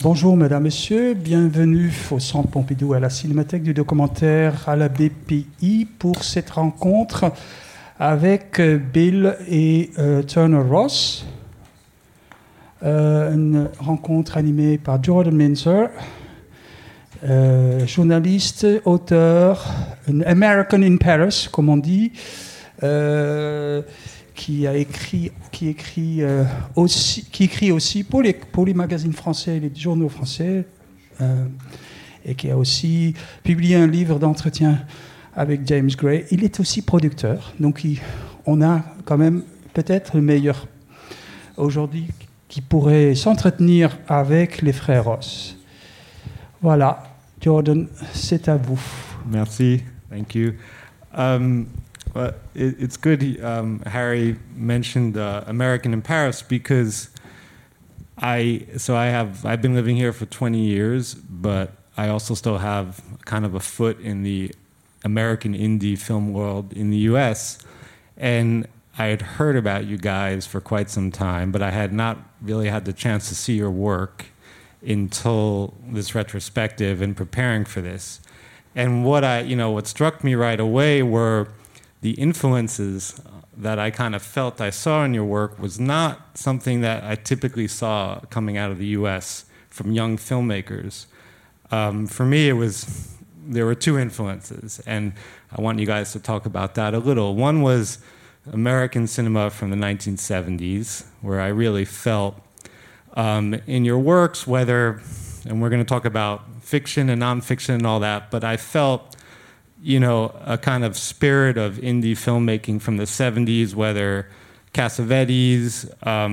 Bonjour Mesdames, Messieurs, bienvenue au Centre Pompidou à la Cinémathèque du documentaire à la BPI pour cette rencontre avec Bill et Turner Ross. Une rencontre animée par Jordan Minzer, journaliste, auteur, un American in Paris, comme on dit, qui écrit aussi pour les magazines français et les journaux français, et qui a aussi publié un livre d'entretien avec James Gray. Il est aussi producteur, donc on a quand même peut-être le meilleur aujourd'hui qui pourrait s'entretenir avec les frères Ross. Voilà, Jordan, c'est à vous. Merci, thank you. Well, it's good Harry mentioned American in Paris because I've been living here for 20 years, but I also still have kind of a foot in the American indie film world in the US, and I had heard about you guys for quite some time, but I had not really had the chance to see your work until this retrospective and preparing for this. And what struck me right away were the influences that I kind of felt I saw in your work was not something that I typically saw coming out of the US from young filmmakers. For me, there were two influences, and I want you guys to talk about that a little. One was American cinema from the 1970s, where I really felt in your works, and we're going to talk about fiction and nonfiction and all that, but I felt, a kind of spirit of indie filmmaking from the 70s, whether Cassavetes,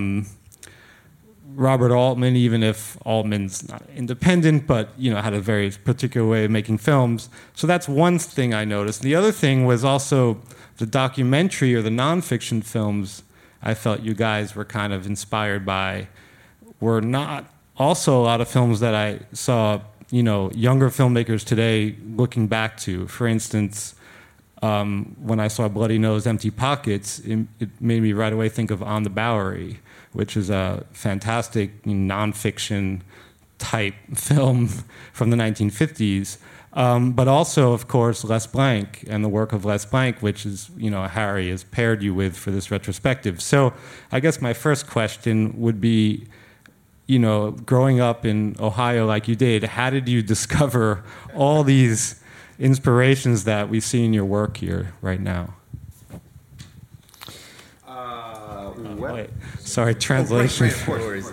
Robert Altman, even if Altman's not independent, but, had a very particular way of making films. So that's one thing I noticed. The other thing was also the documentary or the nonfiction films I felt you guys were kind of inspired by were not also a lot of films that I saw younger filmmakers today looking back to. For instance, when I saw Bloody Nose, Empty Pockets, it made me right away think of On the Bowery, which is a fantastic nonfiction type film from the 1950s. But also, of course, Les Blanc and the work of Les Blanc, which is, Harry has paired you with for this retrospective. So I guess my first question would be, growing up in Ohio like you did, how did you discover all these inspirations that we see in your work here right now? Wait, sorry, translation. No worries.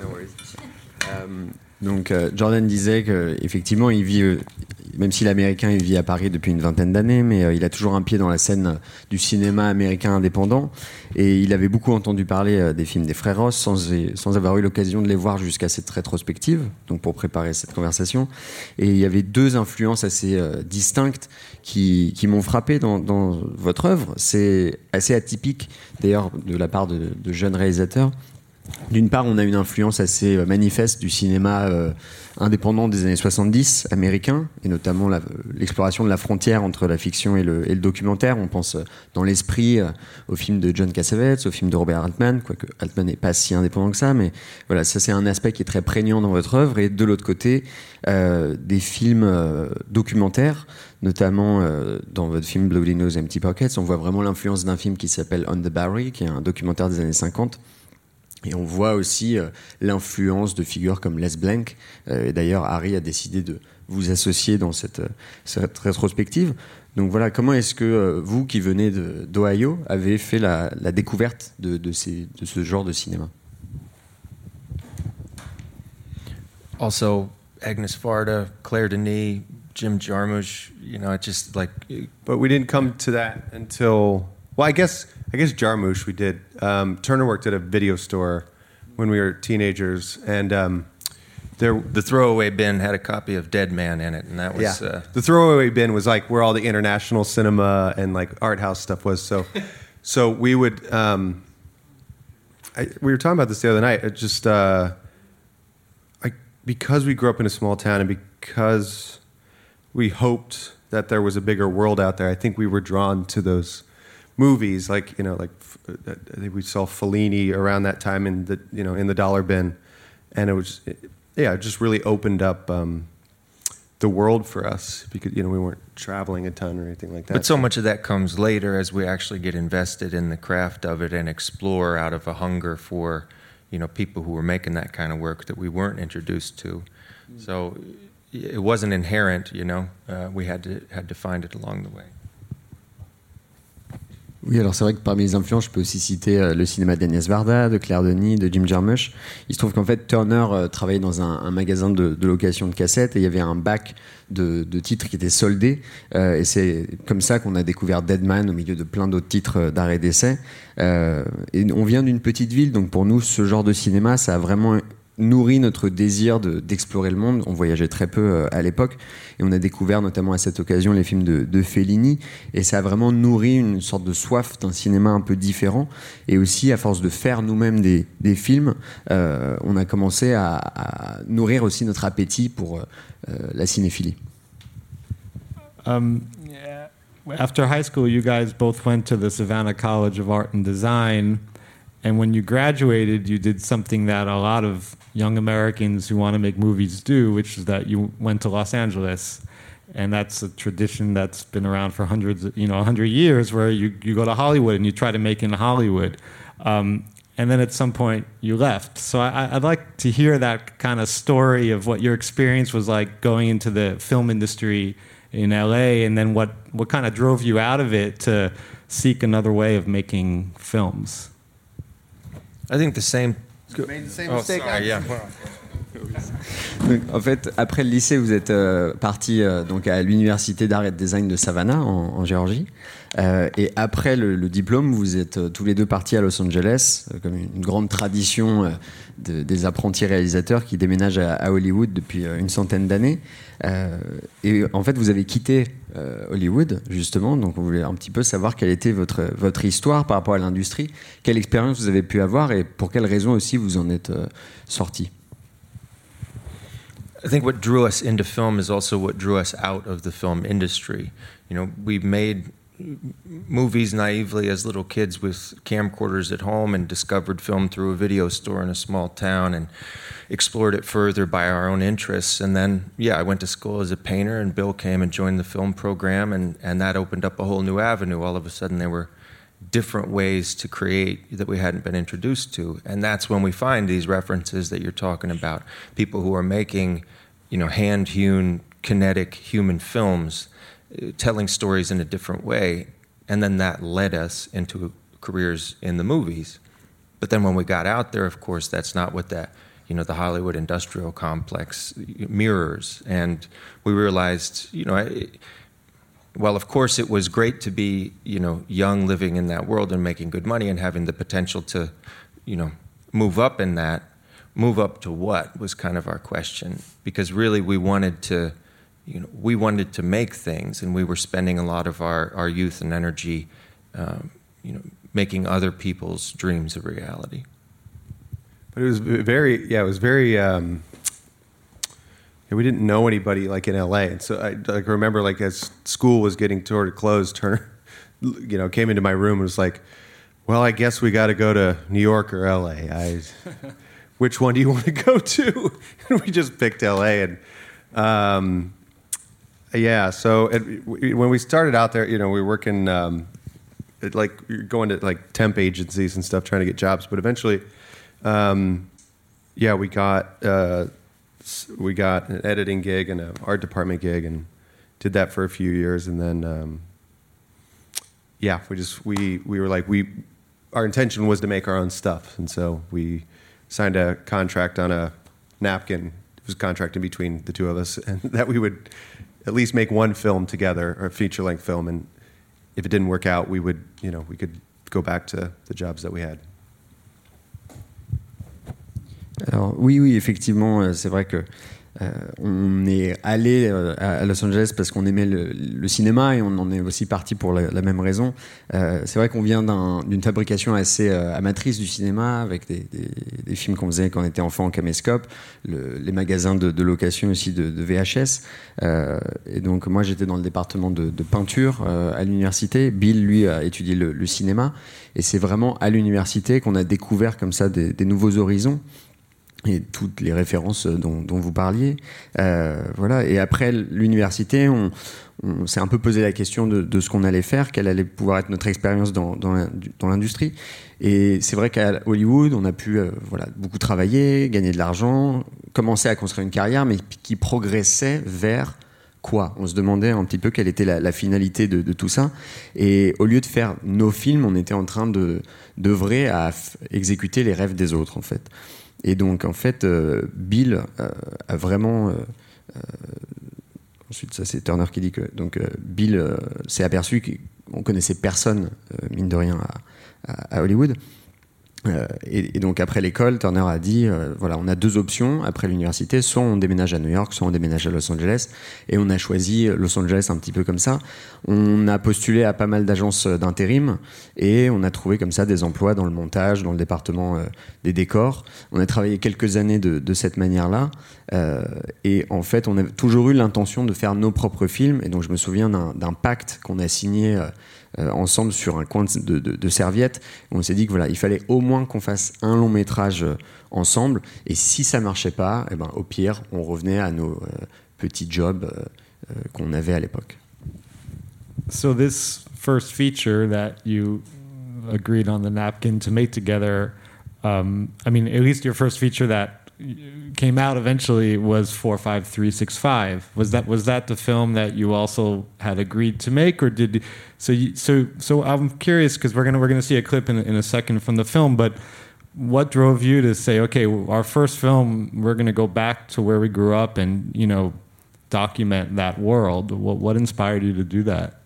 Donc Jordan disait qu'effectivement il vit, même si l'américain il vit à Paris depuis une vingtaine d'années, mais il a toujours un pied dans la scène du cinéma américain indépendant, et il avait beaucoup entendu parler des films des frères Ross sans avoir eu l'occasion de les voir jusqu'à cette rétrospective, donc pour préparer cette conversation. Et il y avait deux influences assez distinctes qui m'ont frappé dans votre œuvre. C'est assez atypique d'ailleurs de la part de jeunes réalisateurs. D'une part, on a une influence assez manifeste du cinéma indépendant des années 70 américain, et notamment l'exploration de la frontière entre la fiction et le documentaire. On pense dans l'esprit au film de John Cassavetes, au film de Robert Altman, quoique Altman n'est pas si indépendant que ça, mais voilà, ça c'est un aspect qui est très prégnant dans votre œuvre. Et de l'autre côté, des films documentaires, notamment dans votre film Bloody Nose, Empty Pockets, on voit vraiment l'influence d'un film qui s'appelle On the Bowery, qui est un documentaire des années 50. Et on voit aussi l'influence de figures comme Les Blanc. Et d'ailleurs, Harry a décidé de vous associer dans cette rétrospective. Donc voilà, comment est-ce que vous, qui venez d'Ohio, avez fait la découverte de ce genre de cinéma? Also, Agnes Varda, Claire Denis, Jim Jarmusch, just like... But we didn't come to that until... Well, I guess Jarmusch we did. Turner worked at a video store when we were teenagers, and the throwaway bin had a copy of Dead Man in it, and that was the throwaway bin was like where all the international cinema and like art house stuff was. So we would. We were talking about this the other night. It just because we grew up in a small town and because we hoped that there was a bigger world out there, I think we were drawn to those movies, I think we saw Fellini around that time in the dollar bin, and it was yeah, it just really opened up the world for us because we weren't traveling a ton or anything like that. But so much of that comes later as we actually get invested in the craft of it and explore out of a hunger for, people who were making that kind of work that we weren't introduced to. So it wasn't inherent, we had to find it along the way. Oui, alors c'est vrai que parmi les influences, je peux aussi citer le cinéma d'Agnès Varda, de Claire Denis, de Jim Jarmusch. Il se trouve qu'en fait, Turner travaillait dans un magasin de location de cassettes et il y avait un bac de titres qui étaient soldés. Et c'est comme ça qu'on a découvert Dead Man au milieu de plein d'autres titres d'art et d'essai. Et on vient d'une petite ville, donc pour nous, ce genre de cinéma, ça a vraiment nourrit notre désir d'explorer le monde. On voyageait très peu à l'époque et on a découvert notamment à cette occasion les films de Fellini et ça a vraiment nourri une sorte de soif d'un cinéma un peu différent et aussi à force de faire nous-mêmes des films, on a commencé à nourrir aussi notre appétit pour la cinéphilie. After high school, you guys both went to the Savannah College of Art and Design. And when you graduated, you did something that a lot of young Americans who want to make movies do, which is that you went to Los Angeles. And that's a tradition that's been around for 100 years, where you go to Hollywood and you try to make in Hollywood. And then at some point you left. So I'd like to hear that kind of story of what your experience was like going into the film industry in LA, and then what kind of drove you out of it to seek another way of making films. I think the same. Made the same mistake. Sorry, yeah. Donc, en fait, après le lycée, vous êtes parti donc à l'université d'art et de design de Savannah en Géorgie. Et après le diplôme, vous êtes tous les deux partis à Los Angeles, comme une grande tradition des apprentis réalisateurs qui déménagent à Hollywood depuis une centaine d'années. Et en fait, vous avez quitté Hollywood, justement. Donc, on voulait un petit peu savoir quelle était votre histoire par rapport à l'industrie, quelle expérience vous avez pu avoir et pour quelles raisons aussi vous en êtes sorti. I think what drew us into film is also what drew us out of the film industry. We made movies naively as little kids with camcorders at home and discovered film through a video store in a small town and explored it further by our own interests. And then, I went to school as a painter and Bill came and joined the film program and that opened up a whole new avenue. All of a sudden there were different ways to create that we hadn't been introduced to. And that's when we find these references that you're talking about. People who are making, hand-hewn, kinetic human films, telling stories in a different way. And then that led us into careers in the movies. But then when we got out there, of course, that's not what that, the Hollywood industrial complex mirrors. And we realized, well, of course, it was great to be, young, living in that world and making good money and having the potential to, move up in that. Move up to what was kind of our question, because really we wanted to make things, and we were spending a lot of our youth and energy, making other people's dreams a reality. But it was very. We didn't know anybody like in LA, and so I remember as school was getting toward a close, Turner, came into my room and was like, "Well, I guess we got to go to New York or LA. Which one do you want to go to?" And we just picked LA, and so when we started out there, we were working going to temp agencies and stuff, trying to get jobs. But eventually, we got an editing gig and an art department gig, and did that for a few years, and then our intention was to make our own stuff, and so we signed a contract on a napkin. It was a contract in between the two of us, and that we would at least make one film together, or a feature-length film, and if it didn't work out, we could go back to the jobs that we had. Alors, oui, effectivement, c'est vrai que on est allé à Los Angeles parce qu'on aimait le cinéma et on en est aussi parti pour la même raison. C'est vrai qu'on vient d'une fabrication assez amatrice du cinéma, avec des films qu'on faisait quand on était enfant en caméscope, les magasins de location aussi de VHS. Et donc moi j'étais dans le département de peinture à l'université. Bill, lui, a étudié le cinéma. Et c'est vraiment à l'université qu'on a découvert comme ça des nouveaux horizons. et toutes les références dont vous parliez. Voilà. Et après l'université, on s'est un peu posé la question de ce qu'on allait faire, quelle allait pouvoir être notre expérience dans l'industrie. Et c'est vrai qu'à Hollywood, on a pu beaucoup travailler, gagner de l'argent, commencer à construire une carrière, mais qui progressait vers quoi ? On se demandait un petit peu quelle était la finalité de tout ça. Et au lieu de faire nos films, on était en train d'œuvrer à exécuter les rêves des autres, en fait. Et donc, en fait, Bill a vraiment... ensuite, ça, c'est Turner qui dit que... Donc, Bill s'est aperçu qu'on connaissait personne, mine de rien, à Hollywood. Et donc, après l'école, Turner a dit, voilà, on a deux options après l'université. Soit on déménage à New York, soit on déménage à Los Angeles. Et on a choisi Los Angeles un petit peu comme ça. On a postulé à pas mal d'agences d'intérim et on a trouvé comme ça des emplois dans le montage, dans le département des décors. On a travaillé quelques années de cette manière-là. Et en fait, on a toujours eu l'intention de faire nos propres films. Et donc, je me souviens d'un pacte qu'on a signé ensemble sur un coin de serviette. On s'est dit que voilà, il fallait au moins qu'on fasse un long métrage ensemble. Et si ça marchait pas, eh ben, au pire, on revenait à nos petits jobs qu'on avait à l'époque. So this first feature that you agreed on the napkin to make together, I mean, at least your first feature that came out eventually was 45365. Was that the film that you also had agreed to make, or did so I'm curious because we're gonna see a clip in a second from the film, but what drove you to say, okay, our first film, we're gonna go back to where we grew up and document that world? What inspired you to do that?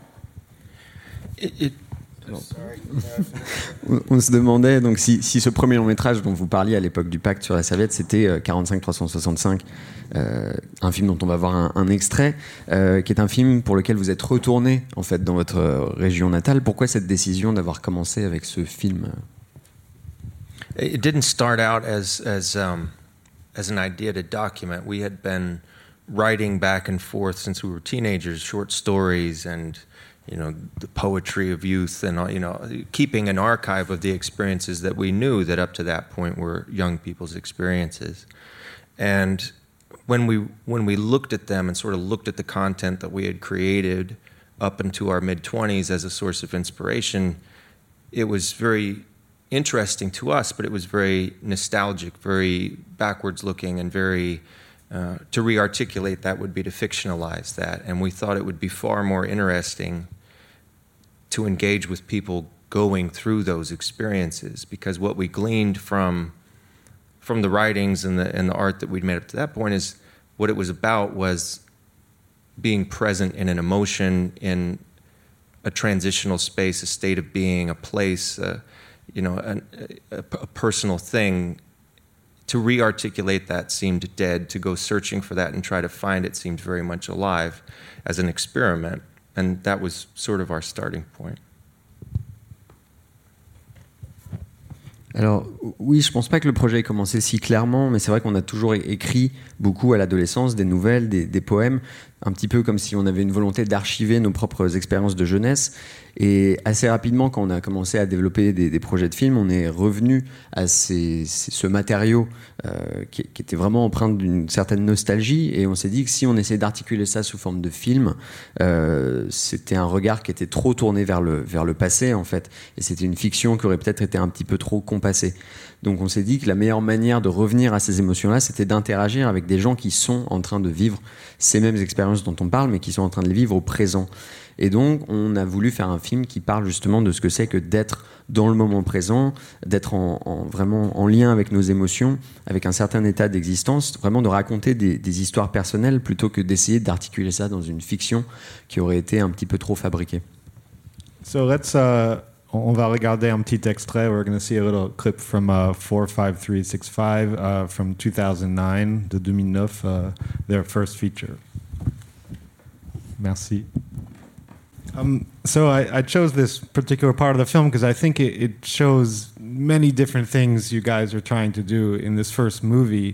On se demandait donc si ce premier long métrage dont vous parliez à l'époque du pacte sur la serviette, c'était 45-365, un film dont on va voir un extrait, qui est un film pour lequel vous êtes retourné en fait dans votre région natale. Pourquoi cette décision d'avoir commencé avec ce film? It didn't start out as an idea to document. We had been writing back and forth since we were teenagers, short stories and the poetry of youth, and keeping an archive of the experiences that we knew that up to that point were young people's experiences. And when we looked at them and sort of looked at the content that we had created up into our mid-20s as a source of inspiration, it was very interesting to us, but it was very nostalgic, very backwards looking, and very to re-articulate that would be to fictionalize that. And we thought it would be far more interesting to engage with people going through those experiences, because what we gleaned from the writings and the art that we'd made up to that point is what it was about was being present in an emotion, in a transitional space, a state of being, a place, a personal thing. To re-articulate that seemed dead. To go searching for that and try to find it seemed very much alive as an experiment. And that was sort of our starting point. Alors oui, je pense pas que le projet ait commencé si clairement, mais c'est vrai qu'on a toujours écrit beaucoup à l'adolescence, des nouvelles, des poèmes, un petit peu comme si on avait une volonté d'archiver nos propres expériences de jeunesse. Et assez rapidement, quand on a commencé à développer des projets de films, on est revenu à ce matériau qui était vraiment empreint d'une certaine nostalgie, et on s'est dit que si on essayait d'articuler ça sous forme de film, c'était un regard qui était trop tourné vers le passé en fait, et c'était une fiction qui aurait peut-être été un petit peu trop compassée. Donc on s'est dit que la meilleure manière de revenir à ces émotions-là, c'était d'interagir avec des gens qui sont en train de vivre ces mêmes expériences dont on parle, mais qui sont en train de les vivre au présent. Et donc, on a voulu faire un film qui parle justement de ce que c'est que d'être dans le moment présent, d'être vraiment en lien avec nos émotions, avec un certain état d'existence, vraiment de raconter des histoires personnelles plutôt que d'essayer d'articuler ça dans une fiction qui aurait été un petit peu trop fabriquée. So let's, on va regarder un petit extrait. We're going to see a little clip from 45365 from 2009, de 2009, their first feature. Merci. So I chose this particular part of the film because I think it shows many different things you guys are trying to do in this first movie.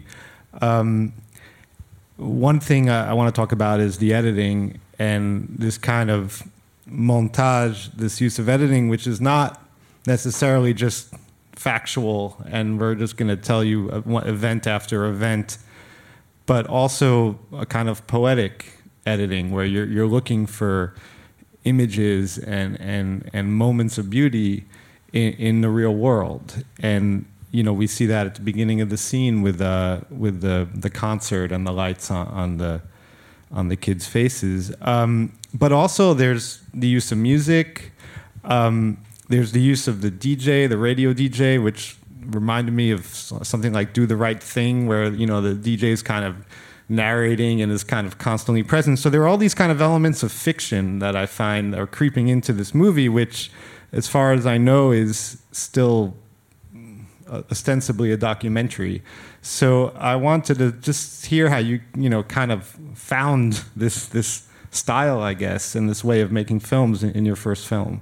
One thing I want to talk about is the editing and this kind of montage, this use of editing, which is not necessarily just factual, and we're just going to tell you event after event, but also a kind of poetic editing where you're looking for images and moments of beauty in the real world. And we see that at the beginning of the scene with the concert and the lights on the kids' faces. But also there's the use of music. There's the use of the DJ, the radio DJ, which reminded me of something like Do the Right Thing, where the DJ is kind of narrating and is kind of constantly present. So there are all these kind of elements of fiction that I find are creeping into this movie, which, as far as I know, is still ostensibly a documentary. So I wanted to just hear how you kind of found this style, I guess, and this way of making films in your first film.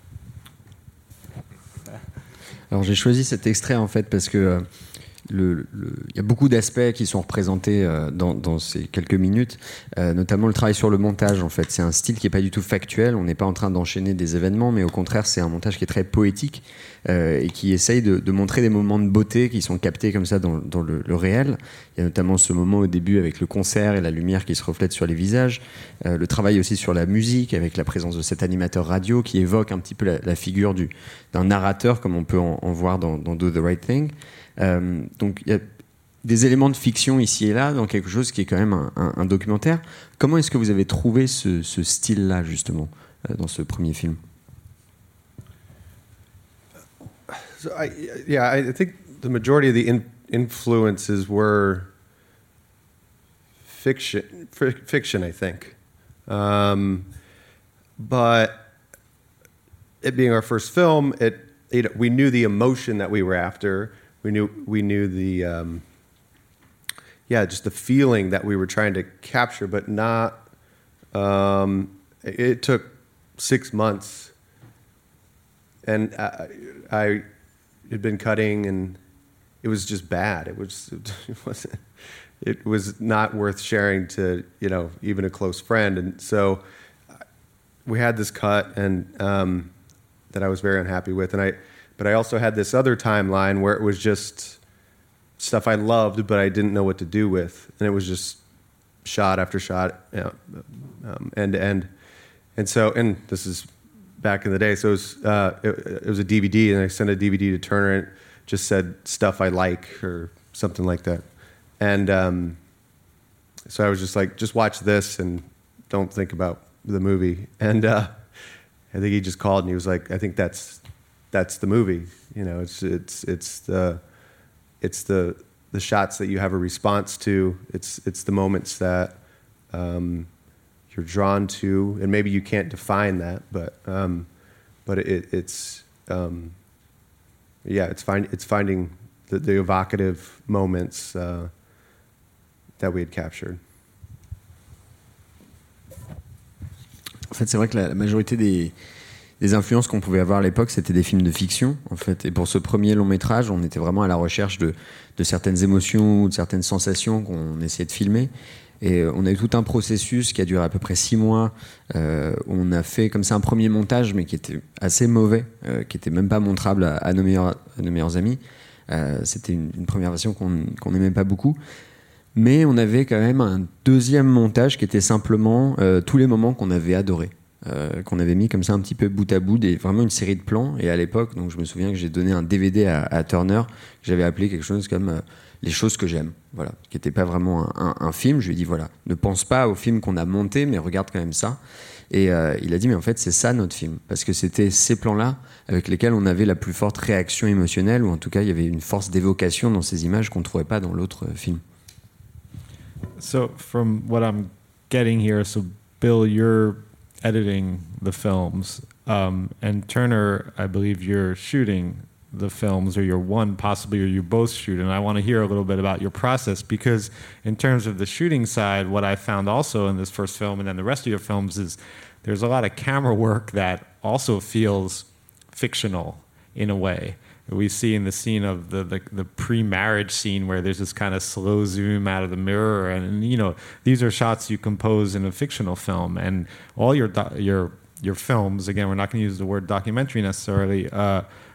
Alors j'ai choisi cet extrait en fait parce que il y a beaucoup d'aspects qui sont représentés dans ces quelques minutes, notamment le travail sur le montage en fait. C'est un style qui n'est pas du tout factuel, on n'est pas en train d'enchaîner des événements, mais au contraire c'est un montage qui est très poétique et qui essaye de montrer des moments de beauté qui sont captés comme ça dans le réel. Il y a notamment ce moment au début avec le concert et la lumière qui se reflète sur les visages, le travail aussi sur la musique avec la présence de cet animateur radio qui évoque un petit peu la figure d'un narrateur comme on peut en voir dans Do the Right Thing. Donc il y a des éléments de fiction ici et là dans quelque chose qui est quand même un documentaire. Comment est-ce que vous avez trouvé ce style-là justement dans ce premier film? So I think the majority of the influences were fiction, I think. But it being our first film, we knew the emotion that we were after. We knew the just the feeling that we were trying to capture, but not. It took 6 months, and I had been cutting, and it was just bad. It was not worth sharing to even a close friend, and so we had this cut, and that I was very unhappy with, but I also had this other timeline where it was just stuff I loved, but I didn't know what to do with. And it was just shot after shot, end to end. And so, and this is back in the day, so it was a DVD, and I sent a DVD to Turner, and it just said stuff I like or something like that. And so I was just like, just watch this and don't think about the movie. And I think he just called and he was like, I think that's the movie. It's the shots that you have a response to. It's the moments that you're drawn to, and maybe you can't define that, but it's finding the evocative moments that we had captured. En fait, c'est vrai que la majorité des influences qu'on pouvait avoir à l'époque, c'était des films de fiction, en fait. Et pour ce premier long métrage, on était vraiment à la recherche de certaines émotions ou de certaines sensations qu'on essayait de filmer. Et on a eu tout un processus qui a duré à peu près 6 mois. On a fait comme ça un premier montage, mais qui était assez mauvais, qui était même pas montrable à nos meilleurs amis. C'était une première version qu'on n'aimait pas beaucoup. Mais on avait quand même un deuxième montage qui était simplement tous les moments qu'on avait adorés, qu'on avait mis comme ça un petit peu bout à bout, vraiment une série de plans. Et à l'époque, donc je me souviens que j'ai donné un DVD à Turner, que j'avais appelé quelque chose comme Les choses que j'aime, voilà, qui n'était pas vraiment un film. Je lui ai dit, voilà, ne pense pas au film qu'on a monté, mais regarde quand même ça. Et il a dit, mais en fait, c'est ça notre film. Parce que c'était ces plans-là avec lesquels on avait la plus forte réaction émotionnelle, ou en tout cas, il y avait une force d'évocation dans ces images qu'on ne trouvait pas dans l'autre film. So from what I'm getting here, so Bill, you're editing the films, and Turner, I believe you're shooting the films, or you're one possibly, or you both shoot. And I want to hear a little bit about your process, because in terms of the shooting side, what I found also in this first film and then the rest of your films is there's a lot of camera work that also feels fictional in a way. We see in the scene of the pre-marriage scene where there's this kind of slow zoom out of the mirror, and these are shots you compose in a fictional film. And all your films, again, we're not going to use the word documentary necessarily,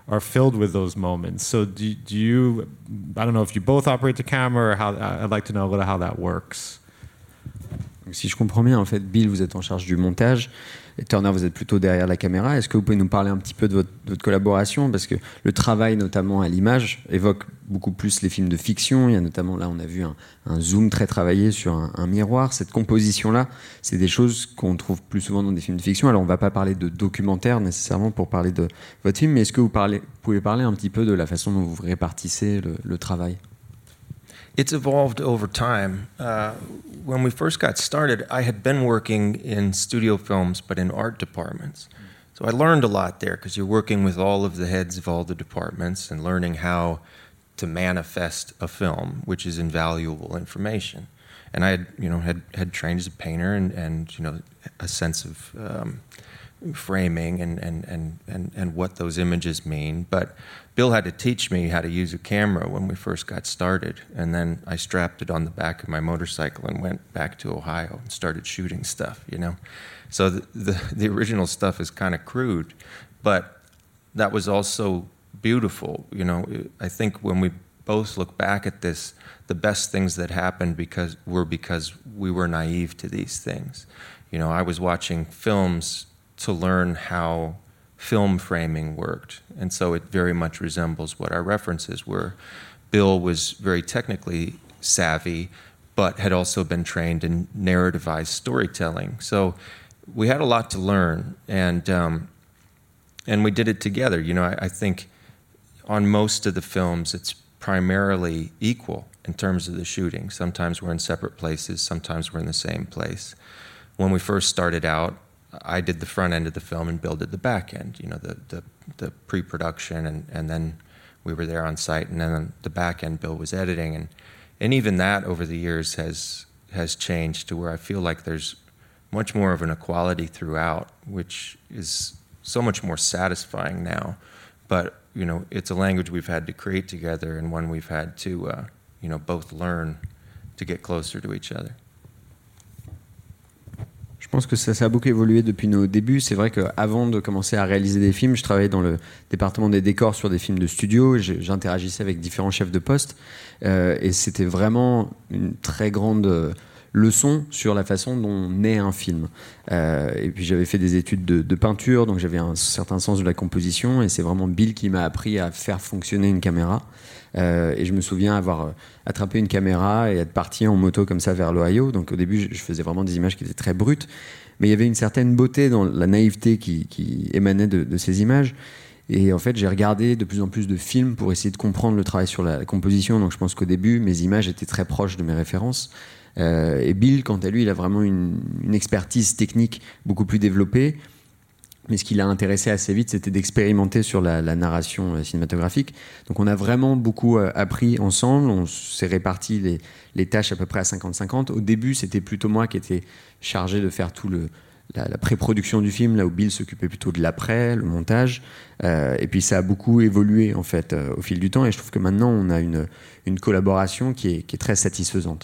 are filled with those moments. So do you, I don't know if you both operate the camera or how, I'd like to know a little how that works. Donc, si je comprends bien, en fait, Bill, vous êtes en charge du montage, et Turner, vous êtes plutôt derrière la caméra. Est-ce que vous pouvez nous parler un petit peu de votre collaboration? Parce que le travail, notamment à l'image, évoque beaucoup plus les films de fiction. Il y a notamment, là, on a vu un zoom très travaillé sur un miroir. Cette composition-là, c'est des choses qu'on trouve plus souvent dans des films de fiction. Alors, on ne va pas parler de documentaire nécessairement pour parler de votre film, mais est-ce que vous pouvez parler un petit peu de la façon dont vous répartissez le travail? It's evolved over time. When we first got started, I had been working in studio films, but in art departments. So I learned a lot there because you're working with all of the heads of all the departments and learning how to manifest a film, which is invaluable information. And I had trained as a painter and a sense of framing and what those images mean. But Bill had to teach me how to use a camera when we first got started, and then I strapped it on the back of my motorcycle and went back to Ohio and started shooting stuff, So the original stuff is kind of crude, but that was also beautiful, I think when we both look back at this, the best things that happened because we were naive to these things. I was watching films to learn how film framing worked, and so it very much resembles what our references were. Bill was very technically savvy, but had also been trained in narrativized storytelling. So we had a lot to learn, and we did it together. I think on most of the films, it's primarily equal in terms of the shooting. Sometimes we're in separate places, sometimes we're in the same place. When we first started out, I did the front end of the film and Bill did the back end, the pre-production, and then we were there on site, and then on the back end Bill was editing, and even that over the years has changed to where I feel like there's much more of an equality throughout, which is so much more satisfying now. But it's a language we've had to create together, and one we've had to both learn to get closer to each other. Je pense que ça a beaucoup évolué depuis nos débuts. C'est vrai qu'avant de commencer à réaliser des films, je travaillais dans le département des décors sur des films de studio. J'interagissais avec différents chefs de poste. Et c'était vraiment une très grande leçon sur la façon dont naît un film. Et puis j'avais fait des études de peinture, donc j'avais un certain sens de la composition. Et c'est vraiment Bill qui m'a appris à faire fonctionner une caméra. Et je me souviens avoir attrapé une caméra et être parti en moto comme ça vers l'Ohio. Donc au début, je faisais vraiment des images qui étaient très brutes, mais il y avait une certaine beauté dans la naïveté qui émanait de ces images. Et en fait, j'ai regardé de plus en plus de films pour essayer de comprendre le travail sur la composition. Donc je pense qu'au début, mes images étaient très proches de mes références. Et Bill, quant à lui, il a vraiment une expertise technique beaucoup plus développée. Mais ce qui l'a intéressé assez vite, c'était d'expérimenter sur la narration cinématographique. Donc on a vraiment beaucoup appris ensemble, on s'est réparti les tâches à peu près à 50-50. Au début, c'était plutôt moi qui étais chargé de faire tout la pré-production du film, là où Bill s'occupait plutôt de l'après, le montage. Et puis ça a beaucoup évolué en fait au fil du temps, et je trouve que maintenant on a une collaboration qui est très satisfaisante.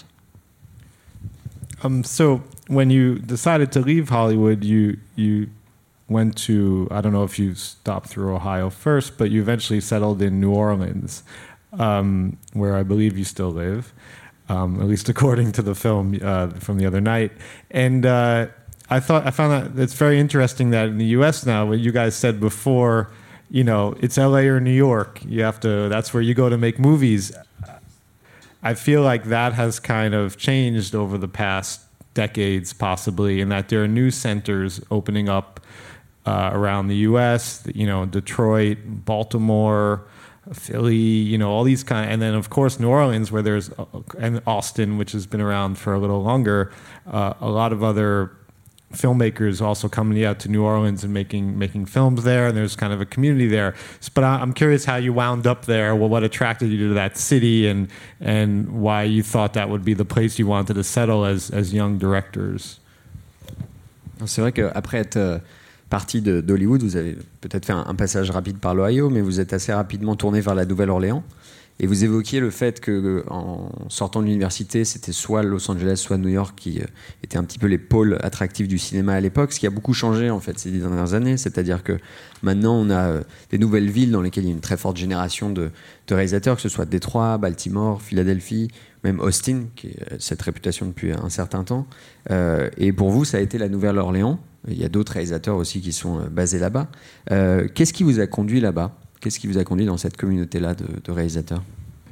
So when you decided to leave Hollywood, you went to, I don't know if you stopped through Ohio first, but you eventually settled in New Orleans, where I believe you still live, at least according to the film from the other night. And I found that it's very interesting that in the U.S. now, what you guys said before, it's L.A. or New York. That's where you go to make movies. I feel like that has kind of changed over the past decades, possibly, in that there are new centers opening up around the U.S., Detroit, Baltimore, Philly, all these and then of course New Orleans, where there's, and Austin, which has been around for a little longer, a lot of other filmmakers also coming out to New Orleans and making films there, and there's kind of a community there. But I'm curious how you wound up there. Well, what attracted you to that city, and why you thought that would be the place you wanted to settle as young directors. C'est vrai qu'après être parti d'Hollywood, vous avez peut-être fait un passage rapide par l'Ohio, mais vous êtes assez rapidement tourné vers la Nouvelle-Orléans. Et vous évoquiez le fait que en sortant de l'université, c'était soit Los Angeles, soit New York qui étaient un petit peu les pôles attractifs du cinéma à l'époque, ce qui a beaucoup changé en fait ces 10 dernières années. C'est-à-dire que maintenant, on a des nouvelles villes dans lesquelles il y a une très forte génération de réalisateurs, que ce soit Détroit, Baltimore, Philadelphie, même Austin, qui a cette réputation depuis un certain temps. Et pour vous, ça a été la Nouvelle-Orléans. Il y a d'autres réalisateurs aussi qui sont basés là-bas. Qu'est-ce qui vous a conduit là-bas ? Qu'est-ce qui vous a conduit dans cette communauté-là de réalisateurs?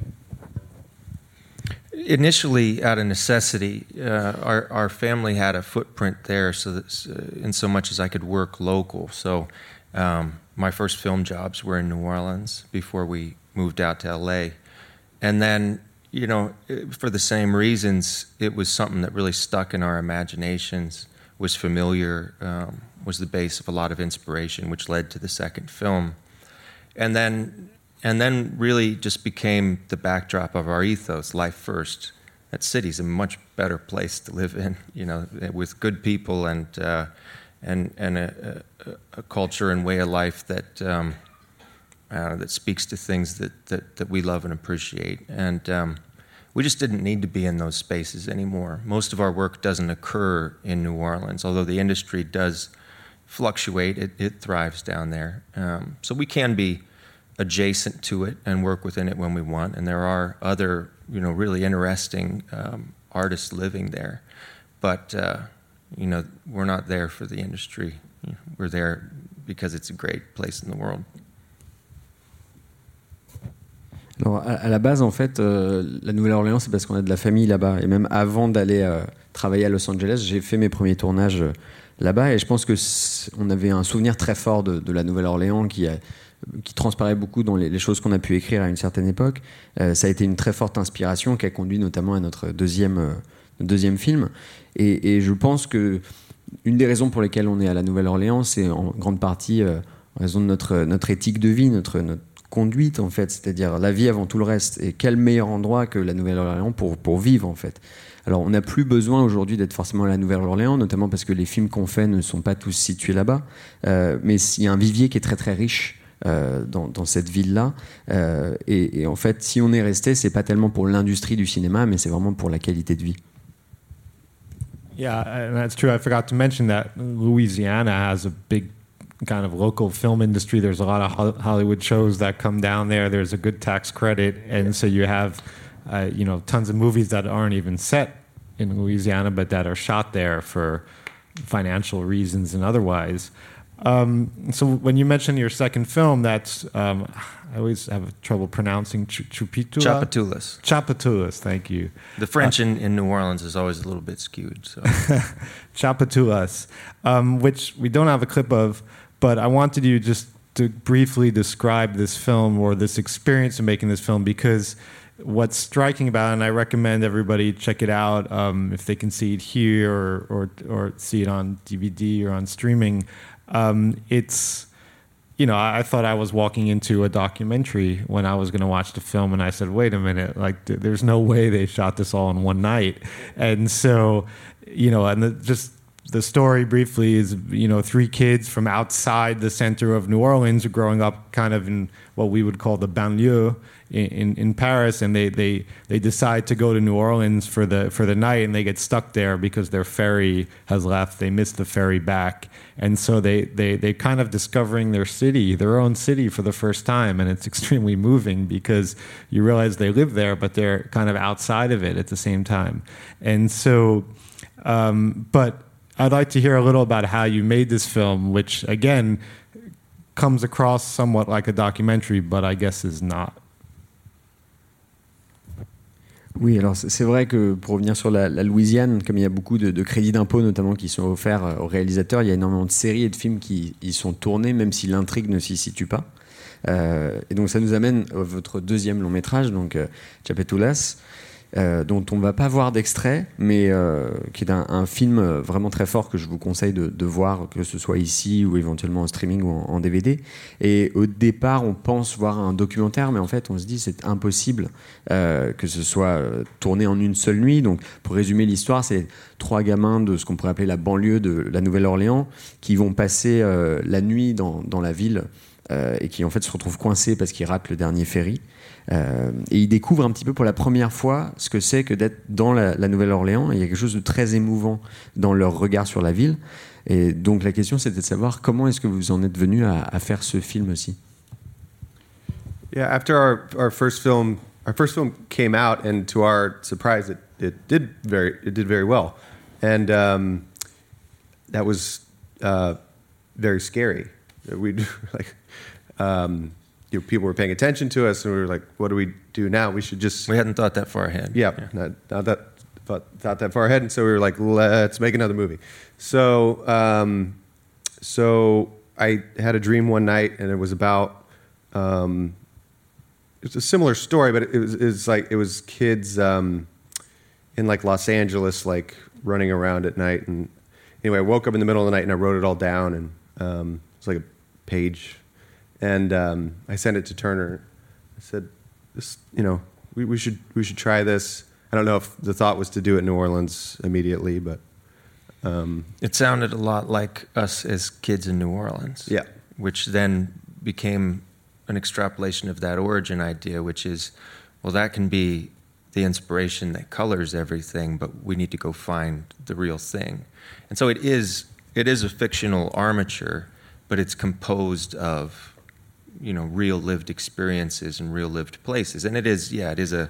Initially, out of necessity, our family had a footprint there, so that, in so much as I could work local. So my first film jobs were in New Orleans before we moved out to LA. And then, you know, for the same reasons, it was something that really stuck in our imaginations, was familiar, was the base of a lot of inspiration, which led to the second film. And then really just became the backdrop of our ethos, life first. That city's a much better place to live in, you know, with good people and a culture and way of life that that speaks to things that we love and appreciate. And we just didn't need to be in those spaces anymore. Most of our work doesn't occur in New Orleans, although the industry does fluctuate. It thrives down there. So we can be adjacent to it and work within it when we want. And there are other, you know, really interesting artists living there. But, you know, we're not there for the industry. We're there because it's a great place in the world. Alors, à la base, en fait, la Nouvelle-Orléans, c'est parce qu'on a de la famille là-bas. Et même avant d'aller travailler à Los Angeles, j'ai fait mes premiers tournages là-bas. Et je pense qu'on avait un souvenir très fort de la Nouvelle-Orléans qui transparaît beaucoup dans les choses qu'on a pu écrire à une certaine époque. Ça a été une très forte inspiration qui a conduit notamment à notre deuxième film. Et je pense que une des raisons pour lesquelles on est à la Nouvelle-Orléans, c'est en grande partie en raison de notre éthique de vie, notre conduite en fait, c'est-à-dire la vie avant tout le reste. Et quel meilleur endroit que la Nouvelle-Orléans pour vivre en fait. Alors on n'a plus besoin aujourd'hui d'être forcément à la Nouvelle-Orléans, notamment parce que les films qu'on fait ne sont pas tous situés là-bas, mais il y a un vivier qui est très très riche dans cette ville-là, et en fait si on est resté, c'est pas tellement pour l'industrie du cinéma, mais c'est vraiment pour la qualité de vie. Yeah, and that's true. I forgot to mention that Louisiana has a big kind of local film industry. There's a lot of Hollywood shows that come down there. There's a good tax credit, and so you have, you know, tons of movies that aren't even set in Louisiana, but that are shot there for financial reasons and otherwise. So when you mention your second film, that's I always have trouble pronouncing Tchoupitoulas. Tchoupitoulas, thank you. The French in New Orleans is always a little bit skewed. So. Tchoupitoulas, which we don't have a clip of, but I wanted you just to briefly describe this film or this experience of making this film, because what's striking about it, and I recommend everybody check it out if they can see it here or see it on DVD or on streaming. It's, you know, I thought I was walking into a documentary when I was going to watch the film, and I said, wait a minute, like there's no way they shot this all in one night. And so, you know, and just the story briefly is, you know, 3 kids from outside the center of New Orleans are growing up kind of in what we would call the banlieue in Paris, and they decide to go to New Orleans for the night, and they get stuck there because their ferry has left. They miss the ferry back, and so they kind of discovering their own city for the first time, and it's extremely moving because you realize they live there, but they're kind of outside of it at the same time. And so, but I'd like to hear a little about how you made this film, which again comes across somewhat like a documentary, but I guess is not. Oui, alors c'est vrai que pour revenir sur la Louisiane, comme il y a beaucoup de crédits d'impôt notamment qui sont offerts aux réalisateurs, il y a énormément de séries et de films qui y sont tournés, même si l'intrigue ne s'y situe pas. Et donc ça nous amène à votre deuxième long métrage, donc Tchoupitoulas, dont on ne va pas voir d'extrait, mais qui est un film vraiment très fort que je vous conseille de voir, que ce soit ici ou éventuellement en streaming ou en DVD. Et au départ, on pense voir un documentaire, mais en fait, on se dit c'est impossible que ce soit tourné en une seule nuit. Donc, pour résumer l'histoire, c'est 3 gamins de ce qu'on pourrait appeler la banlieue de la Nouvelle-Orléans qui vont passer la nuit dans la ville et qui en fait se retrouvent coincés parce qu'ils ratent le dernier ferry. Et il découvre un petit peu pour la première fois ce que c'est que d'être dans la Nouvelle-Orléans. Et il y a quelque chose de très émouvant dans leur regard sur la ville. Et donc la question, c'était de savoir comment est-ce que vous en êtes venu à faire ce film aussi. Yeah, after our first film came out, and to our surprise, it did very well, and that was very scary. We like, people were paying attention to us, and we were like, "What do we do now? We should just." We hadn't thought that far ahead. Yeah, not that far ahead, and so we were like, "Let's make another movie." So I had a dream one night, and it was about. It's a similar story, but it was kids in like Los Angeles, like running around at night. And anyway, I woke up in the middle of the night and I wrote it all down, and it's like a page, and I sent it to Turner. I said, "This, we should try this." I don't know if the thought was to do it in New Orleans immediately, but it sounded a lot like us as kids in New Orleans. Yeah, which then became an extrapolation of that origin idea, which is, well, that can be the inspiration that colors everything, but we need to go find the real thing. And so it is a fictional armature, but it's composed of, real lived experiences and real lived places. And it is a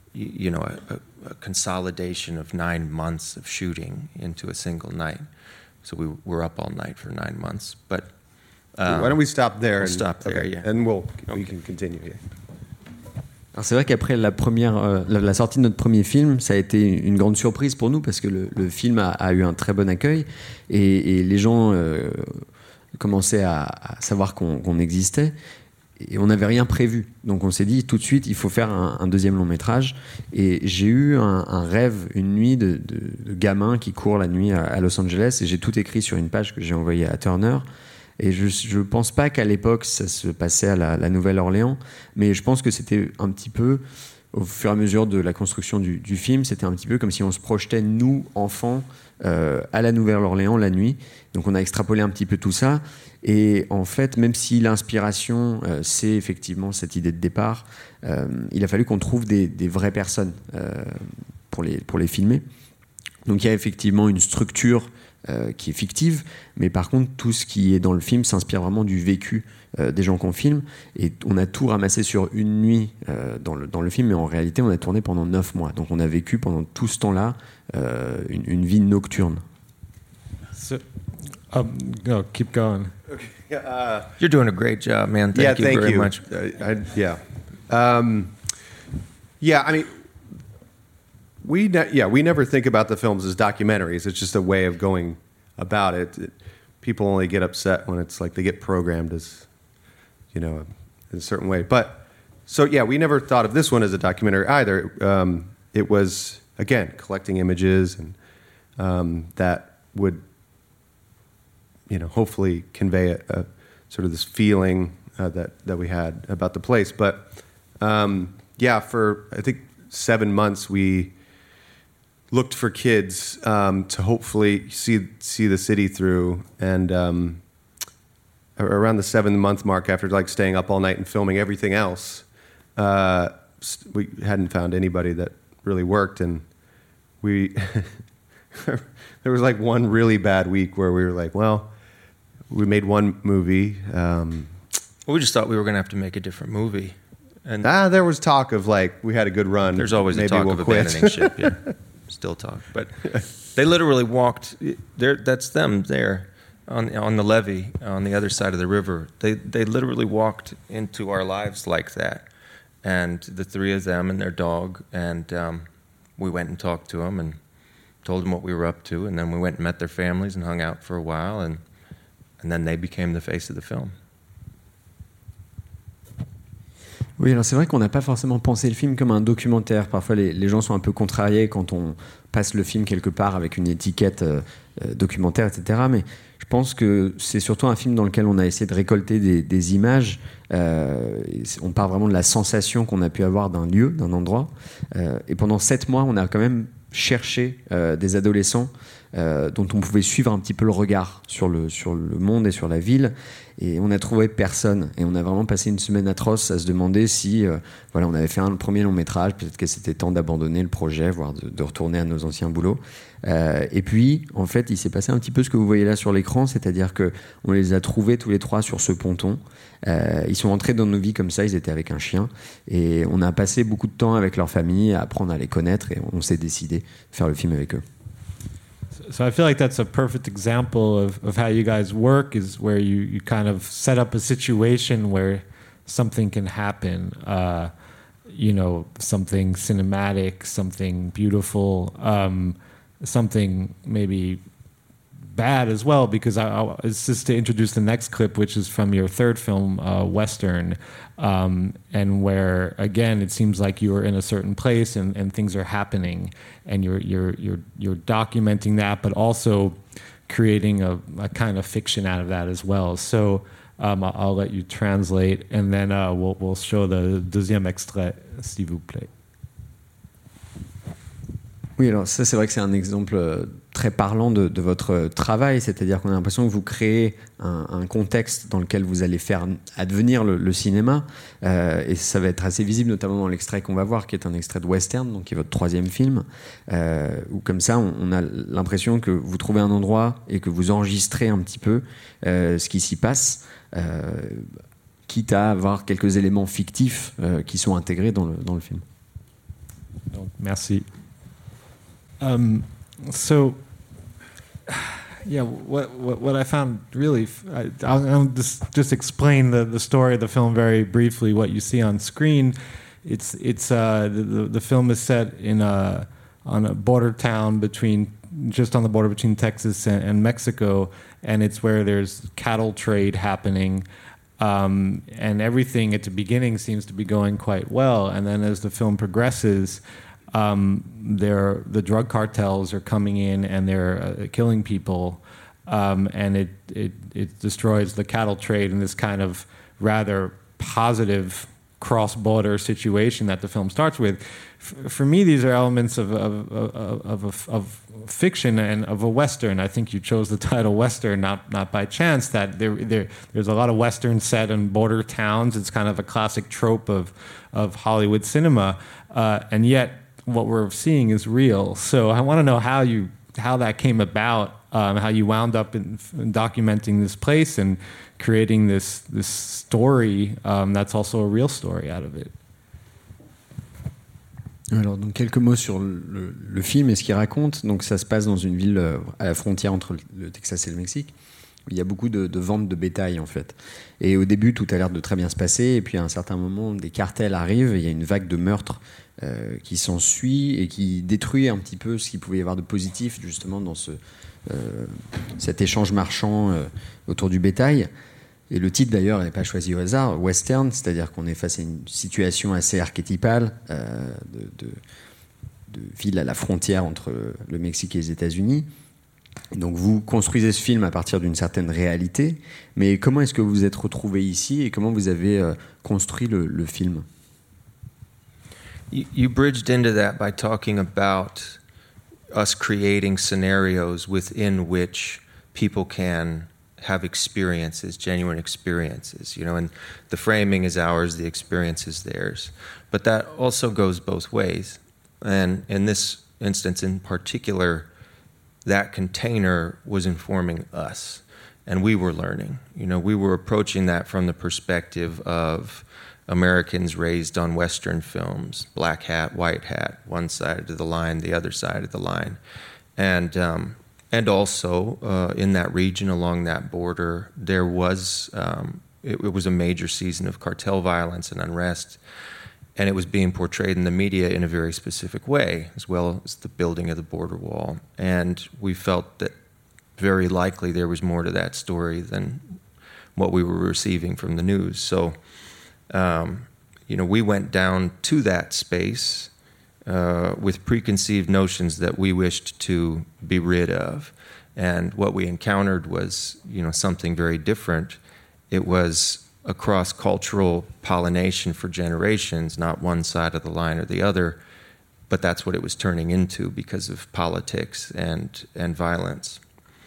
consolidation of 9 months of shooting into a single night. So we were up all night for 9 months, but why don't we stop there? Stop there, okay. yeah. And we can continue. Yeah. Alors c'est vrai qu'après la sortie de notre premier film, ça a été une grande surprise pour nous parce que le film a eu un très bon accueil et les gens commençaient à savoir qu'on existait et on n'avait rien prévu. Donc on s'est dit tout de suite, il faut faire un deuxième long métrage. Et j'ai eu un rêve, une nuit de gamin qui court la nuit à Los Angeles et j'ai tout écrit sur une page que j'ai envoyée à Turner. Et je ne pense pas qu'à l'époque, ça se passait à la Nouvelle-Orléans, mais je pense que c'était un petit peu, au fur et à mesure de la construction du film, c'était un petit peu comme si on se projetait, nous, enfants, à la Nouvelle-Orléans la nuit. Donc on a extrapolé un petit peu tout ça. Et en fait, même si l'inspiration, c'est effectivement cette idée de départ, il a fallu qu'on trouve des vraies personnes pour les filmer. Donc il y a effectivement une structure qui est fictive, mais par contre tout ce qui est dans le film s'inspire vraiment du vécu des gens qu'on filme, et on a tout ramassé sur une nuit dans le film, mais en réalité on a tourné pendant 9 mois, donc on a vécu pendant tout ce temps-là une vie nocturne. So, keep going. Okay. You're doing a great job, man. Thank you very much. I mean, we never think about the films as documentaries. It's just a way of going about it. People only get upset when it's like they get programmed as, in a certain way. But so we never thought of this one as a documentary either. It was, again, collecting images and that would, hopefully convey a sort of this feeling that we had about the place. But for I think 7 months we looked for kids to hopefully see the city through, and around the 7th month mark, after like staying up all night and filming everything else, we hadn't found anybody that really worked, and we there was like one really bad week where we were like, well, we made one movie. We just thought we were going to have to make a different movie. And there was talk of like, we had a good run. There's always maybe a talk we'll of quit. abandoning ship. Yeah. Still talk. But they literally walked there. That's them there on the levee on the other side of the river. They literally walked into our lives like that. And the three of them and their dog. And we went and talked to them and told them what we were up to. And then we went and met their families and hung out for a while. And then they became the face of the film. Oui, alors c'est vrai qu'on n'a pas forcément pensé le film comme un documentaire. Parfois, les gens sont un peu contrariés quand on passe le film quelque part avec une étiquette documentaire, etc. Mais je pense que c'est surtout un film dans lequel on a essayé de récolter des images. On part vraiment de la sensation qu'on a pu avoir d'un lieu, d'un endroit. Et pendant 7 mois, on a quand même chercher des adolescents dont on pouvait suivre un petit peu le regard sur le monde et sur la ville. Et on a trouvé personne. Et on a vraiment passé une semaine atroce à se demander si voilà, on avait fait un premier long métrage, peut-être que c'était temps d'abandonner le projet, voire de retourner à nos anciens boulots. Et puis, en fait, il s'est passé un petit peu ce que vous voyez là sur l'écran, c'est-à-dire qu'on les a trouvés tous les trois sur ce ponton. Ils sont entrés dans nos vies comme ça, ils étaient avec un chien. Et on a passé beaucoup de temps avec leur famille, à apprendre à les connaître, et on s'est décidé de faire le film avec eux. So I feel like that's a perfect example of how you guys work, is where you kind of set up a situation where something can happen, you know, something cinematic, something beautiful, something maybe bad as well, because it's just to introduce the next clip, which is from your third film, Western, and where again it seems like you are in a certain place and things are happening, and you're documenting that, but also creating a kind of fiction out of that as well. So I'll let you translate, and then we'll show the deuxième extrait, s'il vous plaît. Oui, alors ça, c'est vrai que c'est un exemple très parlant de votre travail, c'est-à-dire qu'on a l'impression que vous créez un contexte dans lequel vous allez faire advenir le cinéma, et ça va être assez visible, notamment dans l'extrait qu'on va voir, qui est un extrait de Western, donc qui est votre troisième film, où comme ça, on a l'impression que vous trouvez un endroit et que vous enregistrez un petit peu ce qui s'y passe, quitte à avoir quelques éléments fictifs qui sont intégrés dans le film. Donc, merci. So, yeah, what I found really, I'll just explain the story of the film very briefly. What you see on screen, it's the film is set on a border town just on the border between Texas and Mexico, and it's where there's cattle trade happening. And everything at the beginning seems to be going quite well, and then as the film progresses, the drug cartels are coming in and they're killing people, and it destroys the cattle trade in this kind of rather positive cross-border situation that the film starts with. For me, these are elements of fiction and of a Western. I think you chose the title Western not by chance. That there's a lot of Western set in border towns. It's kind of a classic trope of Hollywood cinema, and yet what we're seeing is real. So I want to know how that came about, how you wound up in documenting this place and creating this story that's also a real story out of it. Alors, donc quelques mots sur le film et ce qu'il raconte. Donc ça se passe dans une ville à la frontière entre le Texas et le Mexique. Il y a beaucoup de ventes de bétail en fait. Et au début, tout a l'air de très bien se passer. Et puis à un certain moment, des cartels arrivent. Et il y a une vague de meurtres qui s'ensuit et qui détruit un petit peu ce qu'il pouvait y avoir de positif justement dans cet échange marchand autour du bétail. Et le titre d'ailleurs n'est pas choisi au hasard, Western, c'est-à-dire qu'on est face à une situation assez archétypale de ville à la frontière entre le Mexique et les États-Unis. Donc vous construisez ce film à partir d'une certaine réalité, mais comment est-ce que vous vous êtes retrouvé ici et comment vous avez construit le film? You bridged into that by talking about us creating scenarios within which people can have experiences, genuine experiences, you know, and the framing is ours, the experience is theirs. But that also goes both ways. And in this instance in particular, that container was informing us, and we were learning. You know, we were approaching that from the perspective of Americans raised on Western films, black hat, white hat, one side of the line, the other side of the line. And also in that region along that border, there was, it was a major season of cartel violence and unrest, and it was being portrayed in the media in a very specific way, as well as the building of the border wall. And we felt that very likely there was more to that story than what we were receiving from the news. So, you know, we went down to that space with preconceived notions that we wished to be rid of. And what we encountered was, you know, something very different. It was a cross-cultural pollination for generations, not one side of the line or the other, but that's what it was turning into because of politics and violence.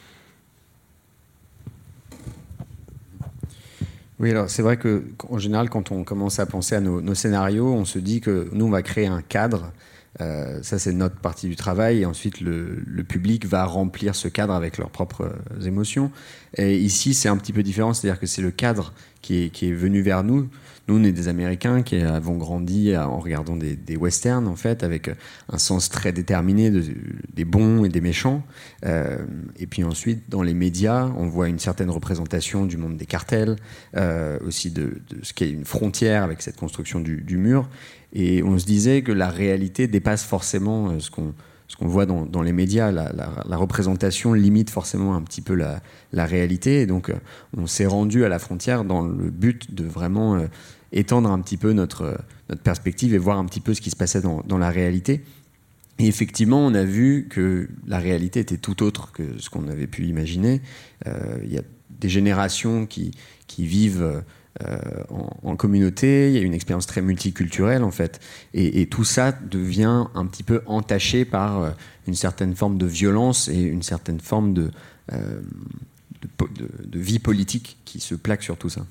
Oui, alors c'est vrai qu'en général, quand on commence à penser à nos scénarios, on se dit que nous, on va créer un cadre. Ça, c'est notre partie du travail. Et ensuite, le public va remplir ce cadre avec leurs propres émotions. Et ici, c'est un petit peu différent. C'est-à-dire que c'est le cadre qui est venu vers nous. Nous, on est des Américains qui avons grandi en regardant des westerns, en fait, avec un sens très déterminé des bons et des méchants. Et puis ensuite, dans les médias, on voit une certaine représentation du monde des cartels, aussi de ce qu'est une frontière avec cette construction du mur. Et on se disait que la réalité dépasse forcément ce qu'on voit dans les médias. La représentation limite forcément un petit peu la réalité. Et donc, on s'est rendu à la frontière dans le but de vraiment étendre un petit peu notre perspective et voir un petit peu ce qui se passait dans la réalité. Et effectivement, on a vu que la réalité était tout autre que ce qu'on avait pu imaginer. Il y a des générations qui vivent en communauté, il y a une expérience très multiculturelle en fait, et tout ça devient un petit peu entaché par une certaine forme de violence et une certaine forme de vie politique qui se plaque sur tout ça.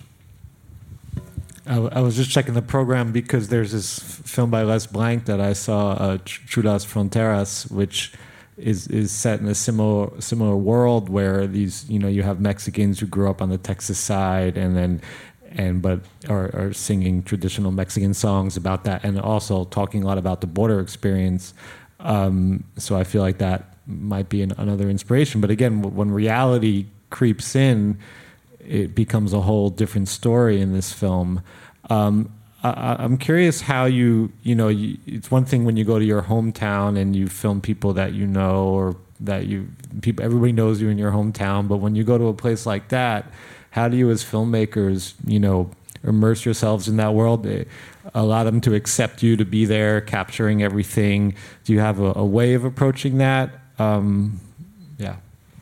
I was just checking the program because there's this film by Les Blanc that I saw, True las Fronteras, which is set in a similar world where these, you have Mexicans who grew up on the Texas side but are singing traditional Mexican songs about that, and also talking a lot about the border experience. So I feel like that might be another inspiration. But again, when reality creeps in, it becomes a whole different story in this film. I'm curious how it's one thing when you go to your hometown and you film people that you know, or that everybody knows you in your hometown, but when you go to a place like that, how do you as filmmakers, immerse yourselves in that world, allow them to accept you to be there, capturing everything? Do you have a way of approaching that? Yeah.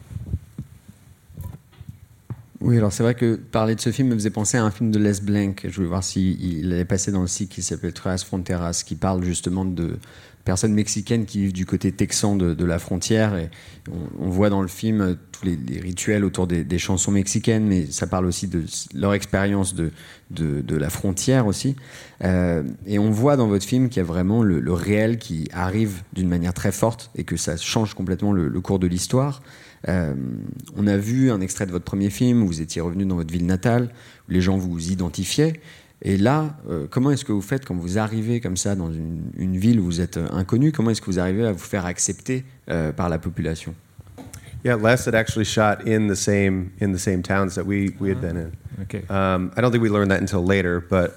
Oui, alors c'est vrai que parler de ce film me faisait penser à un film de Les Blanc. Je voulais voir s'il allait passer dans le site qui s'appelle True las Fronteras, qui parle justement de personnes mexicaines qui vivent du côté texan de la frontière. Et on voit dans le film tous les rituels autour des chansons mexicaines, mais ça parle aussi de leur expérience de la frontière aussi. Et on voit dans votre film qu'il y a vraiment le réel qui arrive d'une manière très forte et que ça change complètement le cours de l'histoire. On a vu un extrait de votre premier film où vous étiez revenu dans votre ville natale, où les gens vous identifiaient. Et là, comment est-ce que vous faites quand vous arrivez comme ça dans une ville où vous êtes inconnu? Comment est-ce que vous arrivez à vous faire accepter par la population? Yeah, Les had actually shot in the same towns that we had been in. Okay. I don't think we learned that until later, but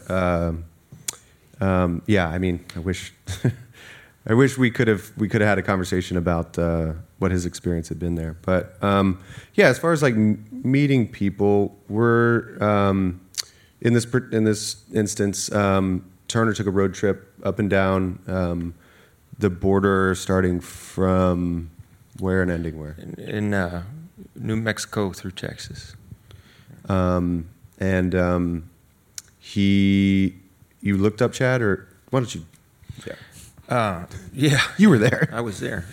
yeah, I mean, I wish we could have had a conversation about what his experience had been there. But yeah, as far as like meeting people, we're in this instance, Turner took a road trip up and down the border, starting from where and ending where? In New Mexico through Texas. You looked up Chad, or why don't you? Yeah, you were there. I was there.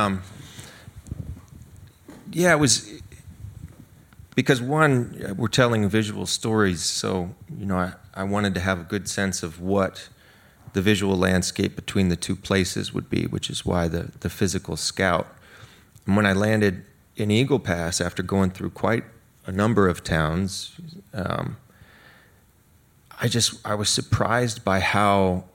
Yeah, it was because one, we're telling visual stories, so I wanted to have a good sense of what the visual landscape between the two places would be, which is why the physical scout. And when I landed in Eagle Pass, after going through quite a number of towns, I was surprised by how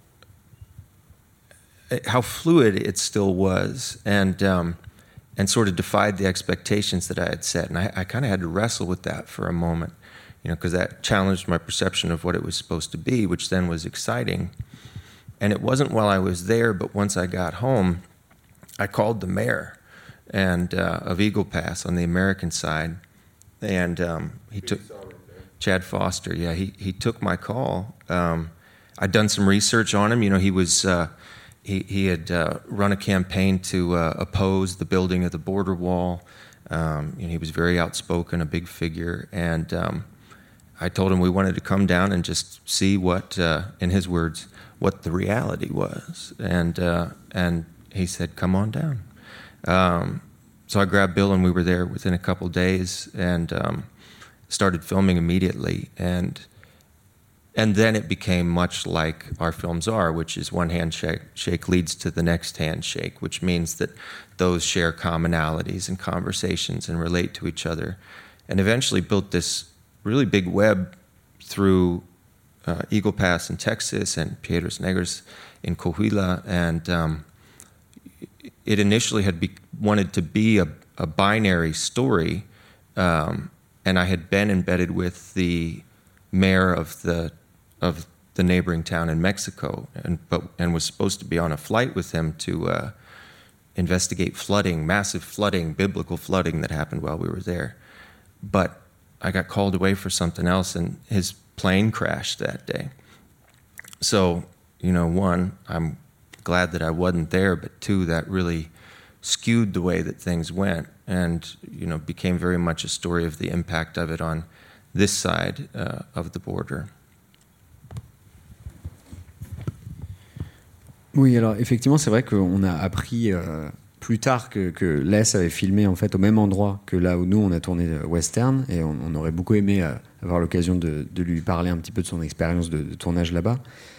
fluid it still was, and sort of defied the expectations that I had set. And I kind of had to wrestle with that for a moment, because that challenged my perception of what it was supposed to be, which then was exciting. And it wasn't while I was there, but once I got home, I called the mayor of Eagle Pass on the American side, and he took Chad Foster. Yeah, he took my call. I'd done some research on him. He was he had run a campaign to oppose the building of the border wall. He was very outspoken, a big figure, and I told him we wanted to come down and just see what, in his words, what the reality was. And he said, come on down. So I grabbed Bill and we were there within a couple days and started filming immediately. And then it became much like our films are, which is one handshake leads to the next handshake, which means that those share commonalities and conversations and relate to each other. And eventually built this really big web through Eagle Pass in Texas and Piedras Negras in Coahuila. And it initially had wanted to be a binary story. And I had been embedded with the mayor of the neighboring town in Mexico, and was supposed to be on a flight with him to investigate flooding, massive flooding, biblical flooding that happened while we were there. But I got called away for something else, and his plane crashed that day. So, one, I'm glad that I wasn't there, but two, that really skewed the way that things went, and became very much a story of the impact of it on this side of the border. Oui, alors effectivement, c'est vrai qu'on a appris plus tard que Les avait filmé en fait au même endroit que là où nous on a tourné Western, et on aurait beaucoup aimé avoir l'occasion de lui parler un petit peu de son expérience de tournage là-bas.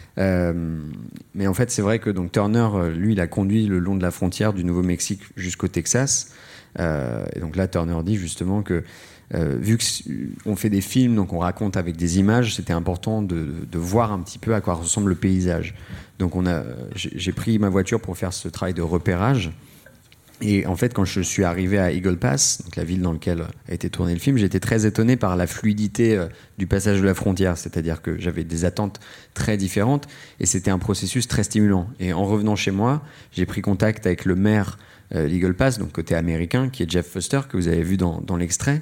Mais en fait, c'est vrai que donc Turner, lui, il a conduit le long de la frontière du Nouveau-Mexique jusqu'au Texas. Et donc là, Turner dit justement que vu qu'on fait des films, donc on raconte avec des images, c'était important de voir un petit peu à quoi ressemble le paysage. Donc j'ai pris ma voiture pour faire ce travail de repérage. Et en fait, quand je suis arrivé à Eagle Pass, donc la ville dans laquelle a été tourné le film, j'étais très étonné par la fluidité du passage de la frontière. C'est-à-dire que j'avais des attentes très différentes et c'était un processus très stimulant. Et en revenant chez moi, j'ai pris contact avec le maire l'Eagle Pass, donc côté américain, qui est Jeff Foster, que vous avez vu dans l'extrait,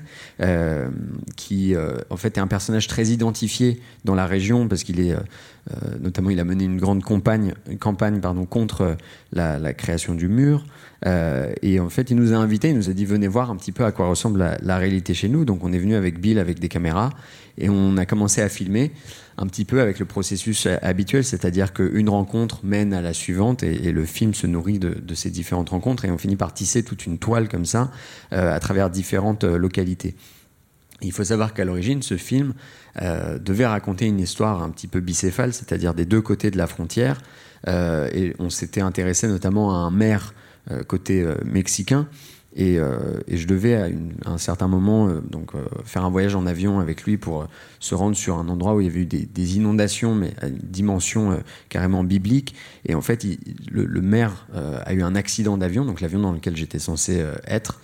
qui en fait est un personnage très identifié dans la région parce qu'il est notamment il a mené une grande campagne contre la création du mur, et en fait il nous a invités, il nous a dit venez voir un petit peu à quoi ressemble la réalité chez nous. Donc on est venu avec Bill avec des caméras et on a commencé à filmer un petit peu avec le processus habituel, c'est-à-dire qu'une rencontre mène à la suivante et le film se nourrit de ces différentes rencontres et on finit par tisser toute une toile comme ça à travers différentes localités. Il faut savoir qu'à l'origine, ce film devait raconter une histoire un petit peu bicéphale, c'est-à-dire des deux côtés de la frontière, et on s'était intéressé notamment à un maire côté mexicain. Et je devais à un certain moment faire un voyage en avion avec lui pour se rendre sur un endroit où il y avait eu des inondations, mais à une dimension carrément biblique. Et en fait, le maire a eu un accident d'avion, donc l'avion dans lequel j'étais censé être.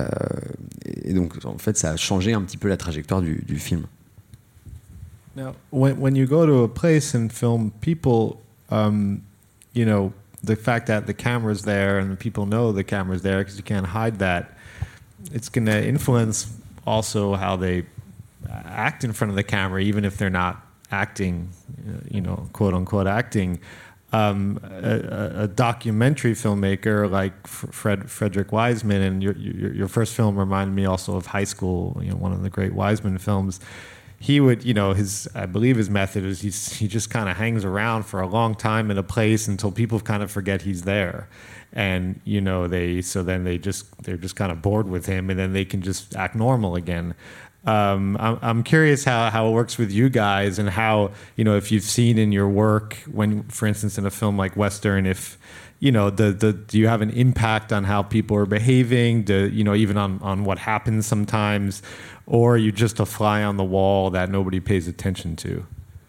Et donc, en fait, ça a changé un petit peu la trajectoire du film. Now, when you go to a place and film people, the fact that the camera's there and the people know the camera's there because you can't hide that, it's going to influence also how they act in front of the camera, even if they're not acting, quote unquote acting. A documentary filmmaker like Frederick Wiseman, and your first film reminded me also of High School, one of the great Wiseman films. He would, I believe his method is he just kind of hangs around for a long time in a place until people kind of forget he's there. And, they're just kind of bored with him and then they can just act normal again. I'm curious how it works with you guys and how, if you've seen in your work when, for instance, in a film like Western, if, do you have an impact on how people are behaving, even on what happens sometimes, or are you just a fly on the wall that nobody pays attention to?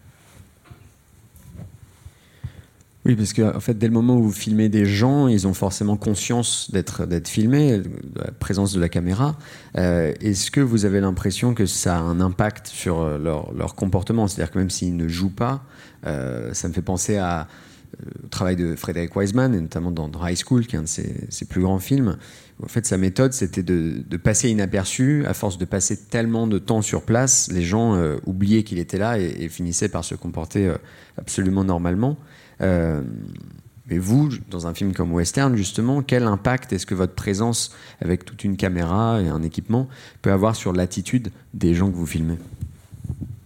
Oui, parce que en fait, dès le moment où vous filmez des gens, ils ont forcément conscience d'être filmés, de la présence de la caméra. Est-ce que vous avez l'impression que ça a un impact sur leur comportement ? C'est-à-dire que même s'ils ne jouent pas, ça me fait penser au travail de Frederick Wiseman, et notamment dans High School, qui est un de ses plus grands films. En fait, sa méthode, c'était de passer inaperçu. À force de passer tellement de temps sur place, les gens oubliaient qu'il était là et finissaient par se comporter absolument normalement. Mais vous, dans un film comme Western, justement, quel impact est-ce que votre présence avec toute une caméra et un équipement peut avoir sur l'attitude des gens que vous filmez ?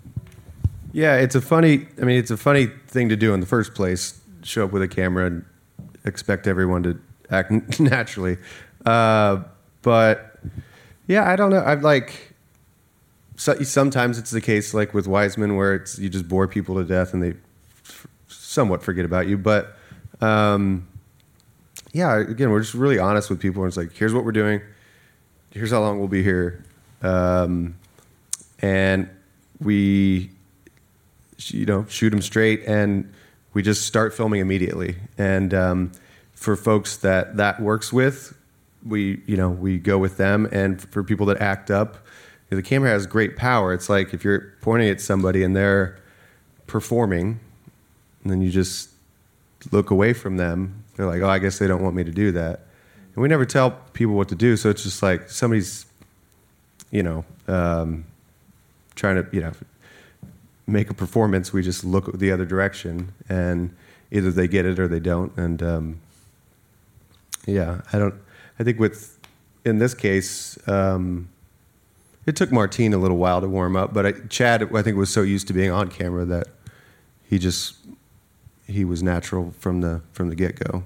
Yeah, it's a funny thing to do in the first place. Show up with a camera and expect everyone to act naturally. But yeah, I don't know. I've like sometimes it's the case like with Wiseman where it's you just bore people to death and they somewhat forget about you. But yeah, again, we're just really honest with people. And it's like, here's what we're doing. Here's how long we'll be here. And we, shoot them straight, and we just start filming immediately. And for folks that works with, we go with them. And for people that act up, the camera has great power. It's like if you're pointing at somebody and they're performing, and then you just look away from them. They're like, oh, I guess they don't want me to do that. And we never tell people what to do, so it's just like somebody's, trying to, make a performance. We just look the other direction, and either they get it or they don't. And I think in this case, it took Martine a little while to warm up, but Chad, I think, was so used to being on camera that he was natural from the get-go.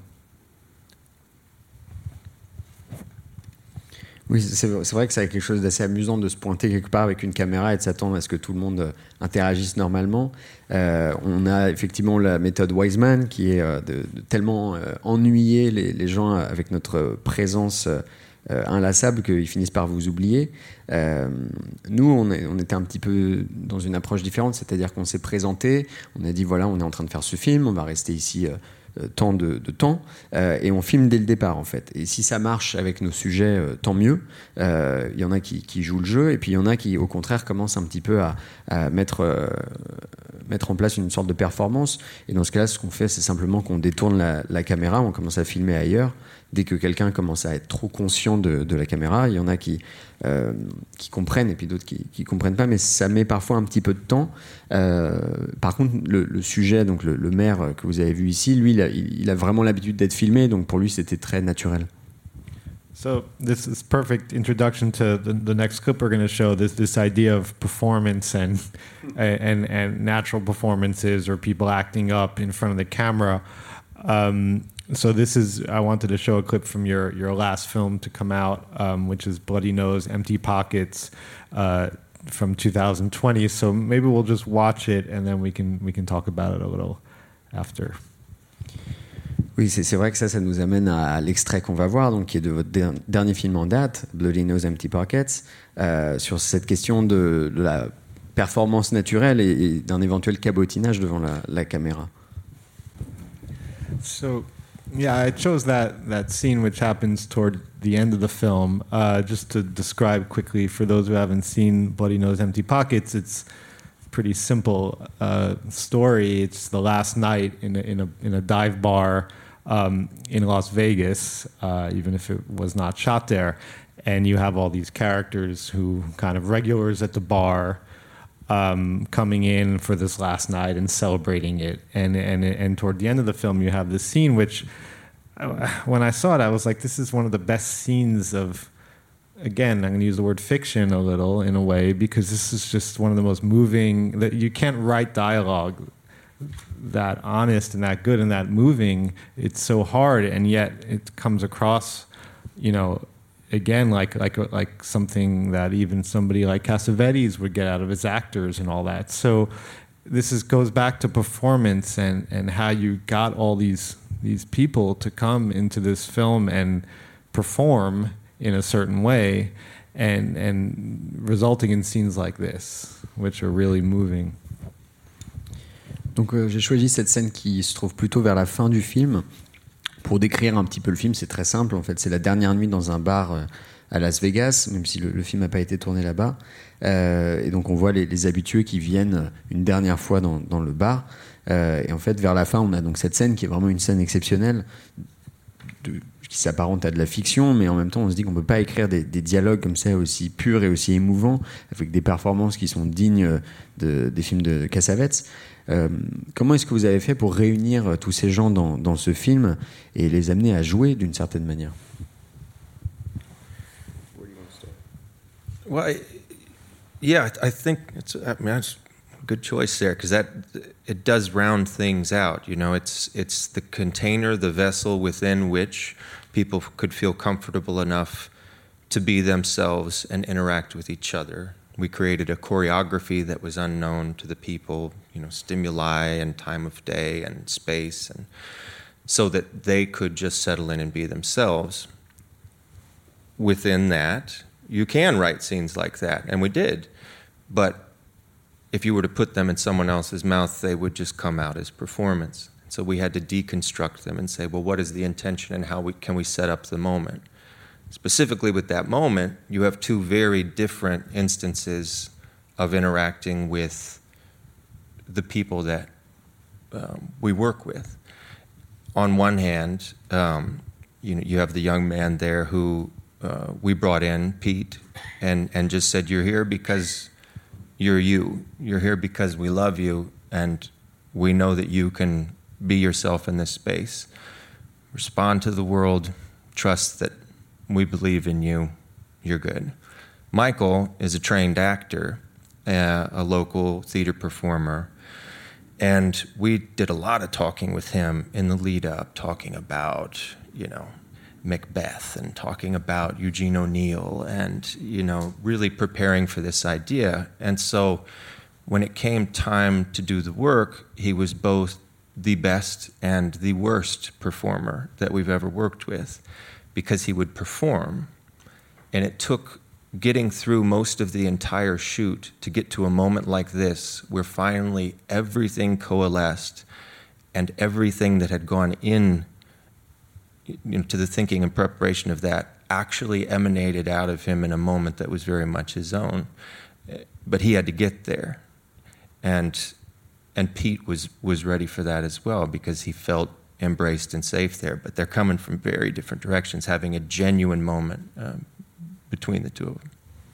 Oui, c'est vrai que c'est quelque chose d'assez amusant de se pointer quelque part avec une caméra et de s'attendre à ce que tout le monde interagisse normalement. On a effectivement la méthode Wiseman qui est de tellement ennuyer les gens avec notre présence inlassable qu'ils finissent par vous oublier. Nous, on était un petit peu dans une approche différente, c'est-à-dire qu'on s'est présenté, on a dit voilà, on est en train de faire ce film, on va rester ici tant de temps, et on filme dès le départ en fait. Et si ça marche avec nos sujets, tant mieux. Il y en a qui jouent le jeu, et puis il y en a qui au contraire commencent un petit peu à mettre en place une sorte de performance. Et dans ce cas-là, ce qu'on fait, c'est simplement qu'on détourne la caméra, on commence à filmer ailleurs. Dès que quelqu'un commence à être trop conscient de la caméra, il y en a qui comprennent et puis d'autres qui comprennent pas, mais ça met parfois un petit peu de temps. Par contre, le sujet, donc le maire que vous avez vu ici, lui, il a vraiment l'habitude d'être filmé, donc pour lui, c'était très naturel. So this is perfect introduction to the next clip we're going to show. This idea of performance and natural performances or people acting up in front of the camera. So I wanted to show a clip from your last film to come out, which is Bloody Nose, Empty Pockets, from 2020. So maybe we'll just watch it and then we can talk about it a little after. Oui, c'est vrai que ça nous amène à l'extrait qu'on va voir, donc qui est de votre dernier film en date, Bloody Nose, Empty Pockets, sur cette question de la performance naturelle et d'un éventuel cabotinage devant la caméra. So, yeah, I chose that scene which happens toward the end of the film, just to describe quickly for those who haven't seen Bloody Nose, Empty Pockets. It's a pretty simple story. It's the last night in a dive bar in Las Vegas, even if it was not shot there, and you have all these characters who kind of regulars at the bar. Coming in for this last night and celebrating it, and toward the end of the film, you have this scene which, when I saw it, I was like, this is one of the best scenes of. Again, I'm going to use the word fiction a little in a way, because this is just one of the most moving. That you can't write dialogue that honest and that good and that moving. It's so hard, and yet it comes across, again, like something that even somebody like Cassavetes would get out of his actors and all that. So goes back to performance and how you got all these people to come into this film and perform in a certain way, and resulting in scenes like this, which are really moving. Donc j'ai choisi cette scène qui se trouve plutôt vers la fin du film. Pour décrire un petit peu le film, c'est très simple. En fait, c'est la dernière nuit dans un bar à Las Vegas, même si le film n'a pas été tourné là-bas. Et donc, on voit les habitués qui viennent une dernière fois dans le bar. Et en fait, vers la fin, on a donc cette scène qui est vraiment une scène exceptionnelle, qui s'apparente à de la fiction, mais en même temps, on se dit qu'on ne peut pas écrire des dialogues comme ça aussi purs et aussi émouvants, avec des performances qui sont dignes des films de Cassavetes. Comment est-ce que vous avez fait pour réunir tous ces gens dans ce film et les amener à jouer d'une certaine manière? Well, I think it's. I mean, good choice there, because that it does round things out. You know, it's the container, the vessel within which people could feel comfortable enough to be themselves and interact with each other. We created a choreography that was unknown to the people, you know, stimuli and time of day and space, and so that they could just settle in and be themselves. Within that, you can write scenes like that, and we did. But if you were to put them in someone else's mouth, they would just come out as performance. So we had to deconstruct them and say, well, what is the intention and how can we set up the moment? Specifically with that moment, you have two very different instances of interacting with the people that we work with. On one hand, you have the young man there who we brought in, Pete, and just said, you're here because you're you. You're here because we love you, and we know that you can be yourself in this space. Respond to the world, trust that we believe in you, you're good. Michael is a trained actor, a local theater performer, and we did a lot of talking with him in the lead up, talking about, you know, Macbeth and talking about Eugene O'Neill and, you know, really preparing for this idea. And so when it came time to do the work, he was both the best and the worst performer that we've ever worked with, because he would perform, and it took getting through most of the entire shoot to get to a moment like this, where finally everything coalesced and everything that had gone in, you know, to the thinking and preparation of that actually emanated out of him in a moment that was very much his own. But he had to get there. And Pete was ready for that as well, because he felt embraced and safe there, but they're coming from very different directions, having a genuine moment between the two of them.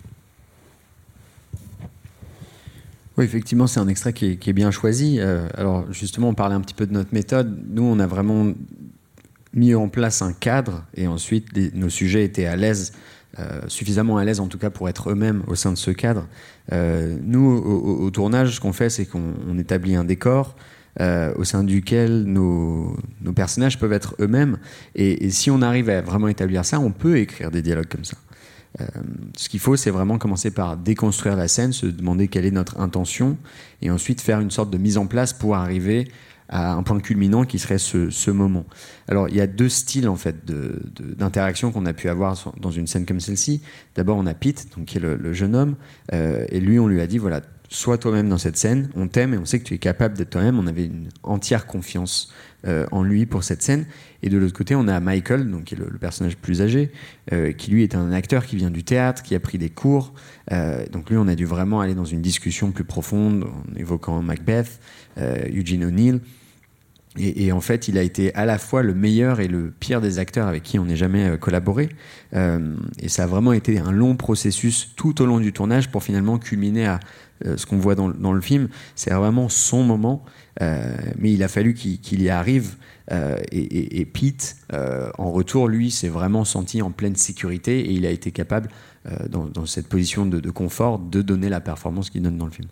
Oui, effectivement, c'est un extrait qui est bien choisi. Alors, justement, on parlait un petit peu de notre méthode. Nous, on a vraiment mis en place un cadre, et ensuite, nos sujets étaient à l'aise, suffisamment à l'aise en tout cas pour être eux-mêmes au sein de ce cadre. Nous, au tournage, ce qu'on fait, c'est qu'on établit un décor au sein duquel nos personnages peuvent être eux-mêmes. Et si on arrive à vraiment établir ça, on peut écrire des dialogues comme ça. Ce qu'il faut, c'est vraiment commencer par déconstruire la scène, se demander quelle est notre intention, et ensuite faire une sorte de mise en place pour arriver à un point culminant qui serait ce moment. Alors, il y a deux styles en fait d'interaction qu'on a pu avoir dans une scène comme celle-ci. D'abord, on a Pete, donc, qui est le jeune homme, et lui, on lui a dit, voilà, sois toi-même dans cette scène, on t'aime et on sait que tu es capable d'être toi-même. On avait une entière confiance en lui pour cette scène. Et de l'autre côté, on a Michael, donc, qui est le personnage plus âgé, qui lui est un acteur qui vient du théâtre, qui a pris des cours. Donc lui, on a dû vraiment aller dans une discussion plus profonde en évoquant Macbeth, Eugene O'Neill. Et en fait, il a été à la fois le meilleur et le pire des acteurs avec qui on n'ait jamais collaboré. Et ça a vraiment été un long processus tout au long du tournage pour finalement culminer à ce qu'on voit dans le film. C'est vraiment son moment, mais il a fallu qu'il y arrive. Et Pete, en retour, lui, s'est vraiment senti en pleine sécurité, et il a été capable, dans cette position de confort, de donner la performance qu'il donne dans le film.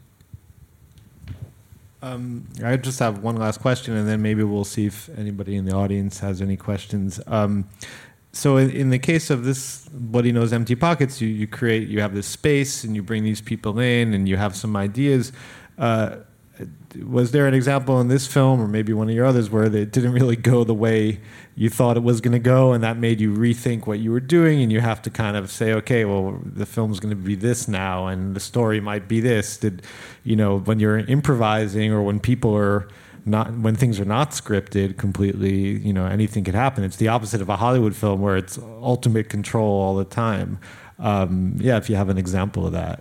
I just have one last question, and then maybe we'll see if anybody in the audience has any questions. So in the case of this Bloody Nose Empty Pockets, you have this space, and you bring these people in, and you have some ideas. Was there an example in this film, or maybe one of your others, where it didn't really go the way you thought it was going to go, and that made you rethink what you were doing, and you have to kind of say, okay, well, the film's going to be this now, and the story might be this? Did, you know, when you're improvising, or when people are not, when things are not scripted completely, you know, anything could happen. It's the opposite of a Hollywood film where it's ultimate control all the time. Yeah, if you have an example of that.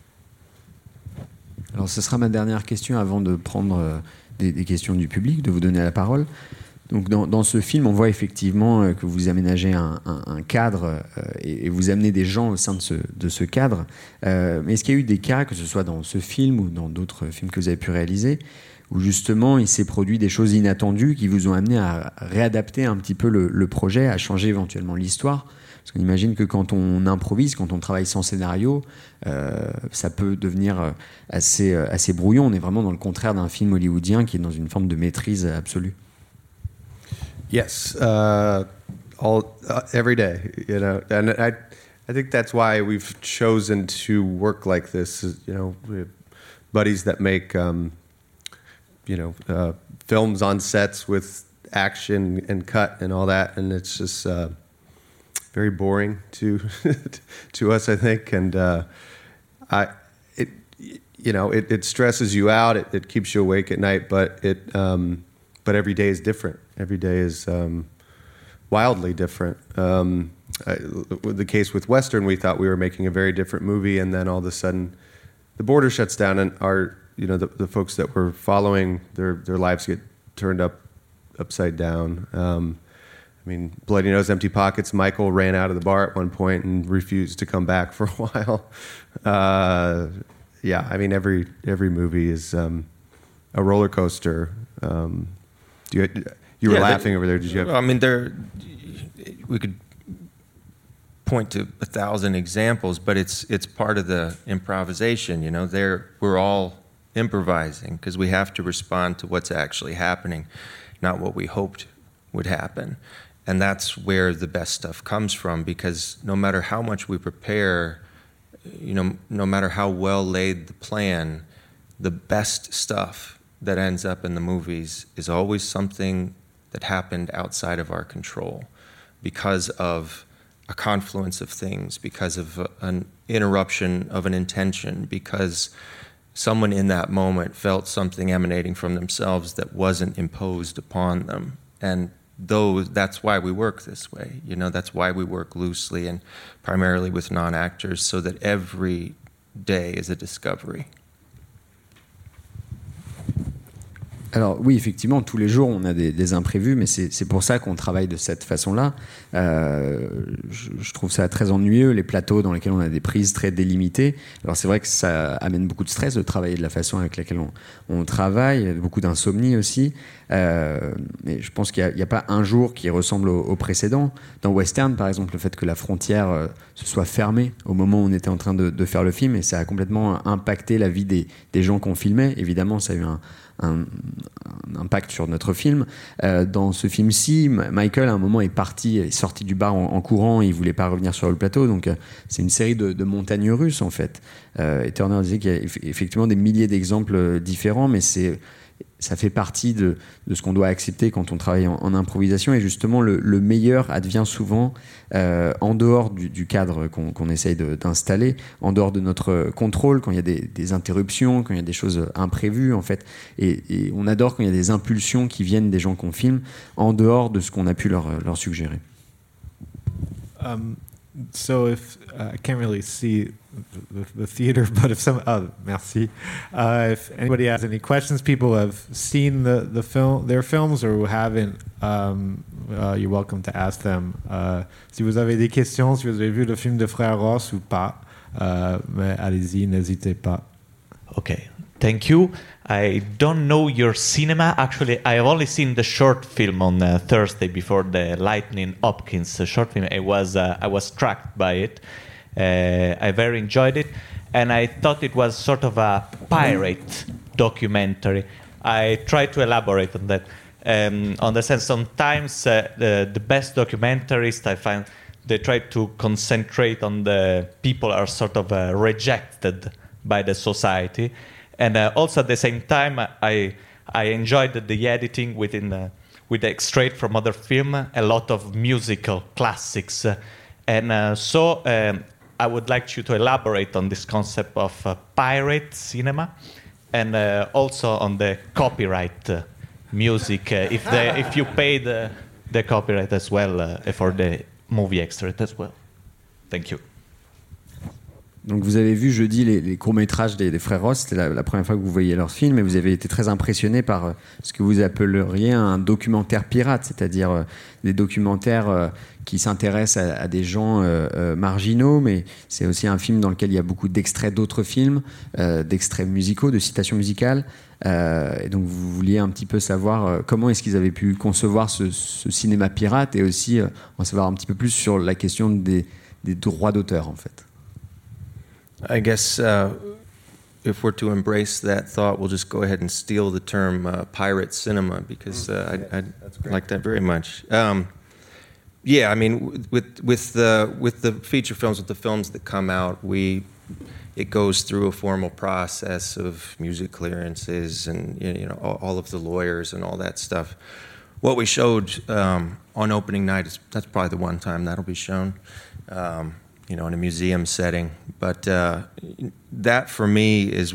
Alors, ce sera ma dernière question avant de prendre des questions du public, de vous donner la parole. Donc, dans ce film, on voit effectivement que vous aménagez un cadre et vous amenez des gens au sein de ce cadre. Mais est-ce qu'il y a eu des cas, que ce soit dans ce film ou dans d'autres films que vous avez pu réaliser, où justement il s'est produit des choses inattendues qui vous ont amené à réadapter un petit peu le projet, à changer éventuellement l'histoire. Parce qu'on imagine que quand on improvise, quand on travaille sans scénario, ça peut devenir assez brouillon. On est vraiment dans le contraire d'un film hollywoodien qui est dans une forme de maîtrise absolue. Yes, every day, you know, and I think that's why we've chosen to work like this. You know, we have buddies that make, films on sets with action and cut and all that, and it's just very boring to to us, I think, and it stresses you out. It keeps you awake at night, but every day is different. Every day is wildly different. The case with Western, we thought we were making a very different movie, and then all of a sudden, the border shuts down, and the folks that were following, their lives get turned upside down. I mean, Bloody Nose, Empty Pockets. Michael ran out of the bar at one point and refused to come back for a while. Yeah, I mean, every movie is a roller coaster. You were laughing over there. Did you have? I mean, we could point to 1,000 examples, but it's part of the improvisation. You know, we're all improvising because we have to respond to what's actually happening, not what we hoped would happen. And that's where the best stuff comes from, because no matter how much we prepare, no matter how well laid the plan, the best stuff that ends up in the movies is always something that happened outside of our control because of a confluence of things, because of an interruption of an intention, because someone in that moment felt something emanating from themselves that wasn't imposed upon them. And that's why we work this way. That's why we work loosely and primarily with non-actors, so that every day is a discovery. Alors oui, effectivement, tous les jours, on a des imprévus, mais c'est pour ça qu'on travaille de cette façon-là. Je trouve ça très ennuyeux, les plateaux dans lesquels on a des prises très délimitées. Alors c'est vrai que ça amène beaucoup de stress de travailler de la façon avec laquelle on travaille, beaucoup d'insomnie aussi. Mais je pense qu'il n'y a pas un jour qui ressemble au précédent. Dans Western, par exemple, le fait que la frontière se soit fermée au moment où on était en train de faire le film, et ça a complètement impacté la vie des gens qu'on filmait. Évidemment, ça a eu un impact sur notre film. Dans ce film-ci, Michael à un moment est sorti du bar en courant, et il voulait pas revenir sur le plateau, donc c'est une série de montagnes russes en fait. Et Turner disait qu'il y a effectivement des milliers d'exemples différents, mais ça fait partie de ce qu'on doit accepter quand on travaille en improvisation, et justement le meilleur advient souvent en dehors du cadre qu'on essaye d'installer, en dehors de notre contrôle, quand il y a des interruptions, quand il y a des choses imprévues en fait, et on adore quand il y a des impulsions qui viennent des gens qu'on filme en dehors de ce qu'on a pu leur suggérer. So if I can't really see the theater, but if anybody has any questions, people have seen their films or who haven't, you're welcome to ask them. Si vous avez des questions, si vous avez vu le film de Frère Ross ou pas, mais allez-y, n'hésitez pas. Okay. Thank you. I don't know your cinema. Actually, I have only seen the short film on Thursday before the Lightning Hopkins short film. I was struck by it. I very enjoyed it, and I thought it was sort of a pirate documentary. I tried to elaborate on that. On the sense, sometimes the best documentaries I find they try to concentrate on the people are sort of rejected by the society. And also at the same time, I enjoyed the editing with the extract from other film, a lot of musical classics. So I would like you to elaborate on this concept of pirate cinema, and also on the copyright music, if you pay the copyright as well for the movie extract as well. Thank you. Donc vous avez vu jeudi les courts-métrages des frères Ross, c'était la première fois que vous voyiez leurs films, et vous avez été très impressionné par ce que vous appelleriez un documentaire pirate, c'est-à-dire des documentaires qui s'intéressent à des gens marginaux, mais c'est aussi un film dans lequel il y a beaucoup d'extraits d'autres films, d'extraits musicaux, de citations musicales. Et donc vous vouliez un petit peu savoir comment est-ce qu'ils avaient pu concevoir ce cinéma pirate, et aussi en savoir un petit peu plus sur la question des droits d'auteur en fait. I guess if we're to embrace that thought, we'll just go ahead and steal the term pirate cinema, because I like that very much. Yeah, I mean, with the feature films, with the films that come out, it goes through a formal process of music clearances and all of the lawyers and all that stuff. What we showed on opening night that's probably the one time that'll be shown. In a museum setting. But that for me is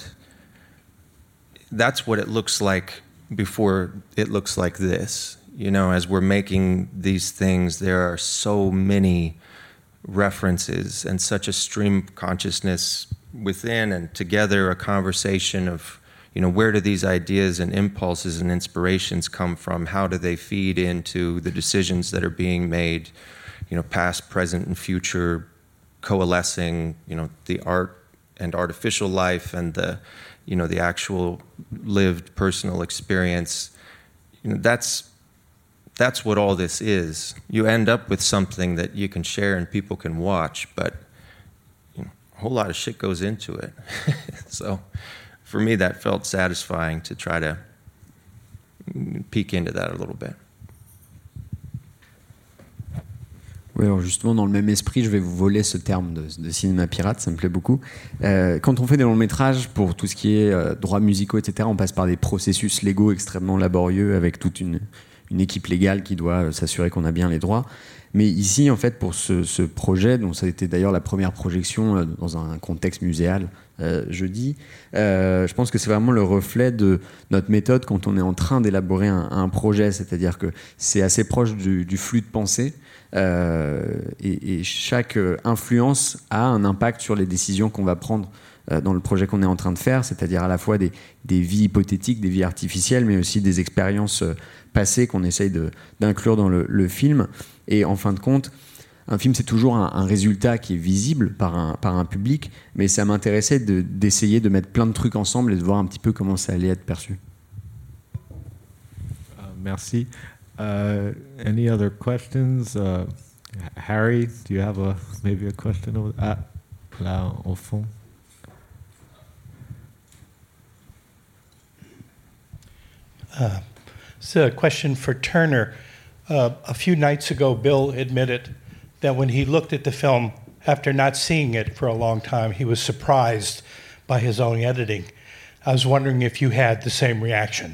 that's what it looks like before it looks like this. As we're making these things, there are so many references and such a stream of consciousness within and together, a conversation of, where do these ideas and impulses and inspirations come from? How do they feed into the decisions that are being made? Past, present, and future coalescing, the art and artificial life and the actual lived personal experience. That's what all this is. You end up with something that you can share and people can watch, but a whole lot of shit goes into it. So for me, that felt satisfying to try to peek into that a little bit. Oui, alors justement, dans le même esprit, je vais vous voler ce terme de cinéma pirate, ça me plaît beaucoup. Quand on fait des longs métrages, pour tout ce qui est droits musicaux, etc., on passe par des processus légaux extrêmement laborieux, avec toute une équipe légale qui doit s'assurer qu'on a bien les droits. Mais ici, en fait, pour ce projet, dont ça a été d'ailleurs la première projection dans un contexte muséal jeudi, je pense que c'est vraiment le reflet de notre méthode quand on est en train d'élaborer un projet, c'est-à-dire que c'est assez proche du flux de pensée, et chaque influence a un impact sur les décisions qu'on va prendre dans le projet qu'on est en train de faire, c'est-à-dire à la fois des vies hypothétiques, des vies artificielles, mais aussi des expériences passées qu'on essaye d'inclure dans le film. Et en fin de compte, un film, c'est toujours un résultat qui est visible par un public, mais ça m'intéressait d'essayer de mettre plein de trucs ensemble et de voir un petit peu comment ça allait être perçu. Merci. Any other questions? Harry, do you have maybe a question over là au fond? It's a question for Turner. A few nights ago, Bill admitted that when he looked at the film, after not seeing it for a long time, he was surprised by his own editing. I was wondering if you had the same reaction.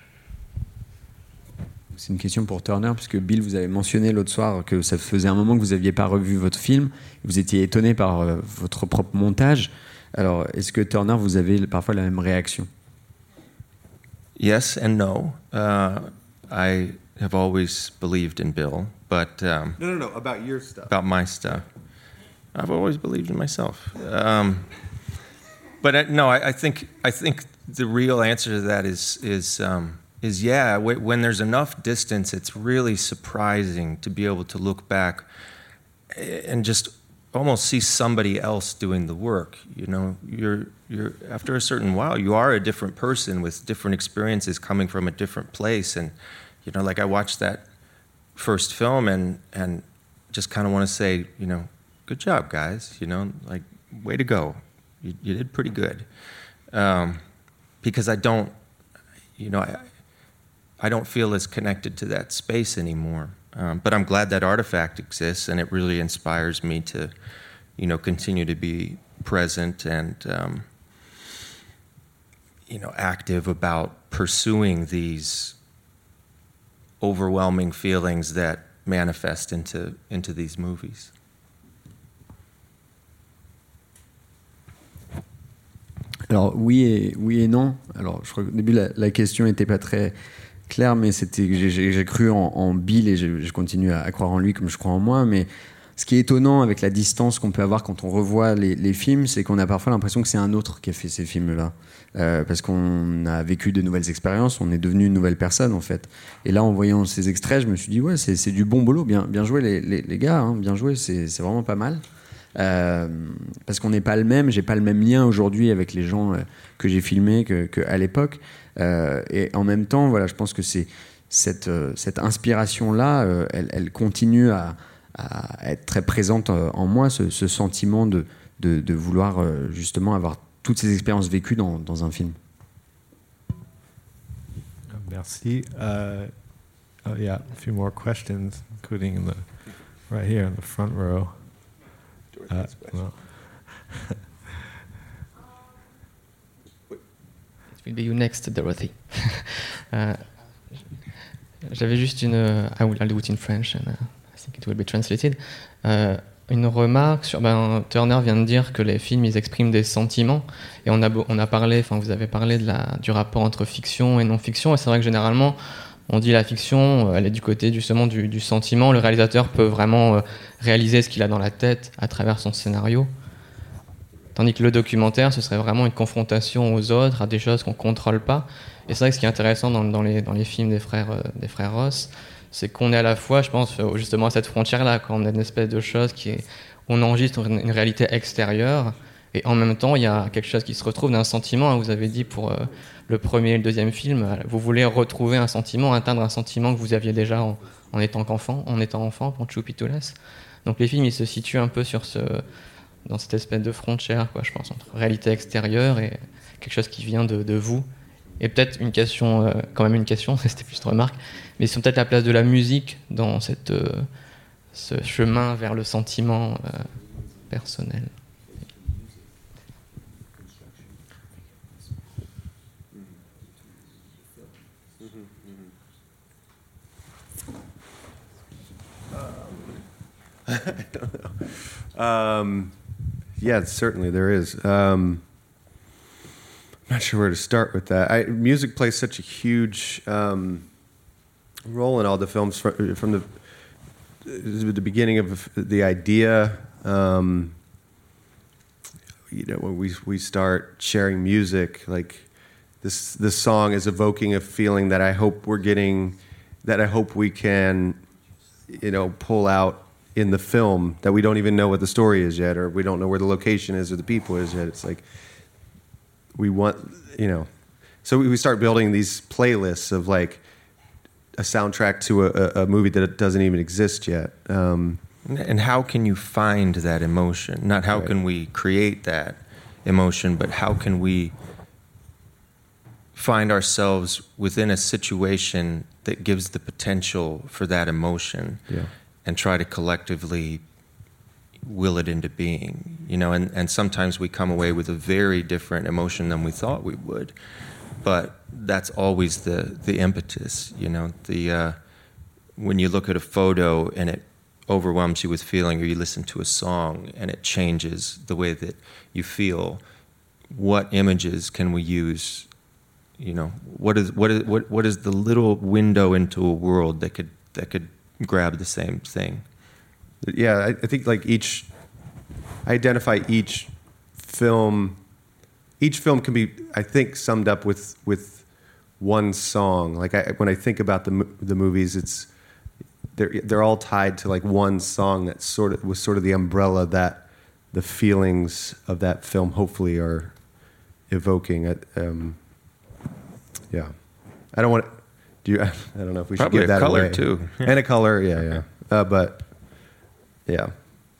C'est une question pour Turner, puisque Bill, vous avez mentionné l'autre soir que ça faisait un moment que vous n'aviez pas revu votre film, vous étiez étonné par votre propre montage. Alors, est-ce que Turner, vous avez parfois la même réaction? Yes and no. I have always believed in Bill, but No, about your stuff. About my stuff. I've always believed in myself. But I think the real answer to that is yeah. When there's enough distance, it's really surprising to be able to look back and just almost see somebody else doing the work. You're after a certain while, you are a different person with different experiences coming from a different place. And like I watched that first film and just kind of want to say, good job, guys. Like way to go. You did pretty good. Because I don't feel as connected to that space anymore. But I'm glad that artifact exists, and it really inspires me to, continue to be present and, active about pursuing these overwhelming feelings that manifest into these movies. Alors oui et non. Alors je crois qu'au début la question n'était pas très claire, mais c'était j'ai cru en Bill et je continue à croire en lui comme je crois en moi. Mais ce qui est étonnant avec la distance qu'on peut avoir quand on revoit les films, c'est qu'on a parfois l'impression que c'est un autre qui a fait ces films-là. Parce qu'on a vécu de nouvelles expériences, on est devenu une nouvelle personne en fait. Et là, en voyant ces extraits, je me suis dit ouais, c'est du bon boulot, bien joué les gars, hein, bien joué, c'est vraiment pas mal. Parce qu'on n'est pas le même, j'ai pas le même lien aujourd'hui avec les gens que j'ai filmés qu'à l'époque. Et en même temps, voilà, je pense que c'est cette inspiration-là, elle continue à être très présente en moi, ce sentiment de vouloir justement avoir toutes ces expériences vécues dans un film. Merci. Yeah, a few more questions, including right here in the front row. Well. It will be you next, Dorothy. J'avais juste I'll do it in French and I think it will be translated. Une remarque sur. Turner vient de dire que les films, ils expriment des sentiments. Et on a parlé, vous avez parlé du rapport entre fiction et non-fiction. Et c'est vrai que généralement, on dit la fiction, elle est du côté justement du sentiment. Le réalisateur peut vraiment réaliser ce qu'il a dans la tête à travers son scénario. Tandis que le documentaire, ce serait vraiment une confrontation aux autres, à des choses qu'on ne contrôle pas. Et c'est vrai que ce qui est intéressant dans les films des frères Ross, c'est qu'on est à la fois, je pense, justement à cette frontière-là, quand on a une espèce de chose on enregistre une réalité extérieure, et en même temps, il y a quelque chose qui se retrouve d'un sentiment. Vous avez dit pour le premier et le deuxième film, vous voulez retrouver un sentiment, atteindre un sentiment que vous aviez déjà en étant enfant, pour Chupitulas. Donc les films, ils se situent un peu dans cette espèce de frontière, je pense, entre réalité extérieure et quelque chose qui vient de vous. Et peut-être une question, c'était plus une remarque, mais c'est peut-être la place de la musique dans ce chemin vers le sentiment personnel. I don't know. Yeah, certainly there is. I'm not sure where to start with that. Music plays such a huge role in all the films from the beginning of the idea. When we start sharing music, like this song is evoking a feeling that I hope we're getting, that I hope we can, pull out in the film, that we don't even know what the story is yet, or we don't know where the location is or the people is yet. It's like we want, so we start building these playlists of like a soundtrack to a movie that doesn't even exist yet. And how can you find that emotion? Not how can we create that emotion, but how can we find ourselves within a situation that gives the potential for that emotion, and try to collectively will it into being, and sometimes we come away with a very different emotion than we thought we would, but that's always the impetus, when you look at a photo and it overwhelms you with feeling, or you listen to a song and it changes the way that you feel, what images can we use? What is the little window into a world that could grab the same thing? Yeah, I think like I identify each film can be, I think, summed up with one song. Like when I think about the movies, they're all tied to like one song that was sort of the umbrella that the feelings of that film hopefully are evoking. Yeah, I don't want. I don't know if we should Probably give that away. Probably a color too, and a color. Yeah. But yeah.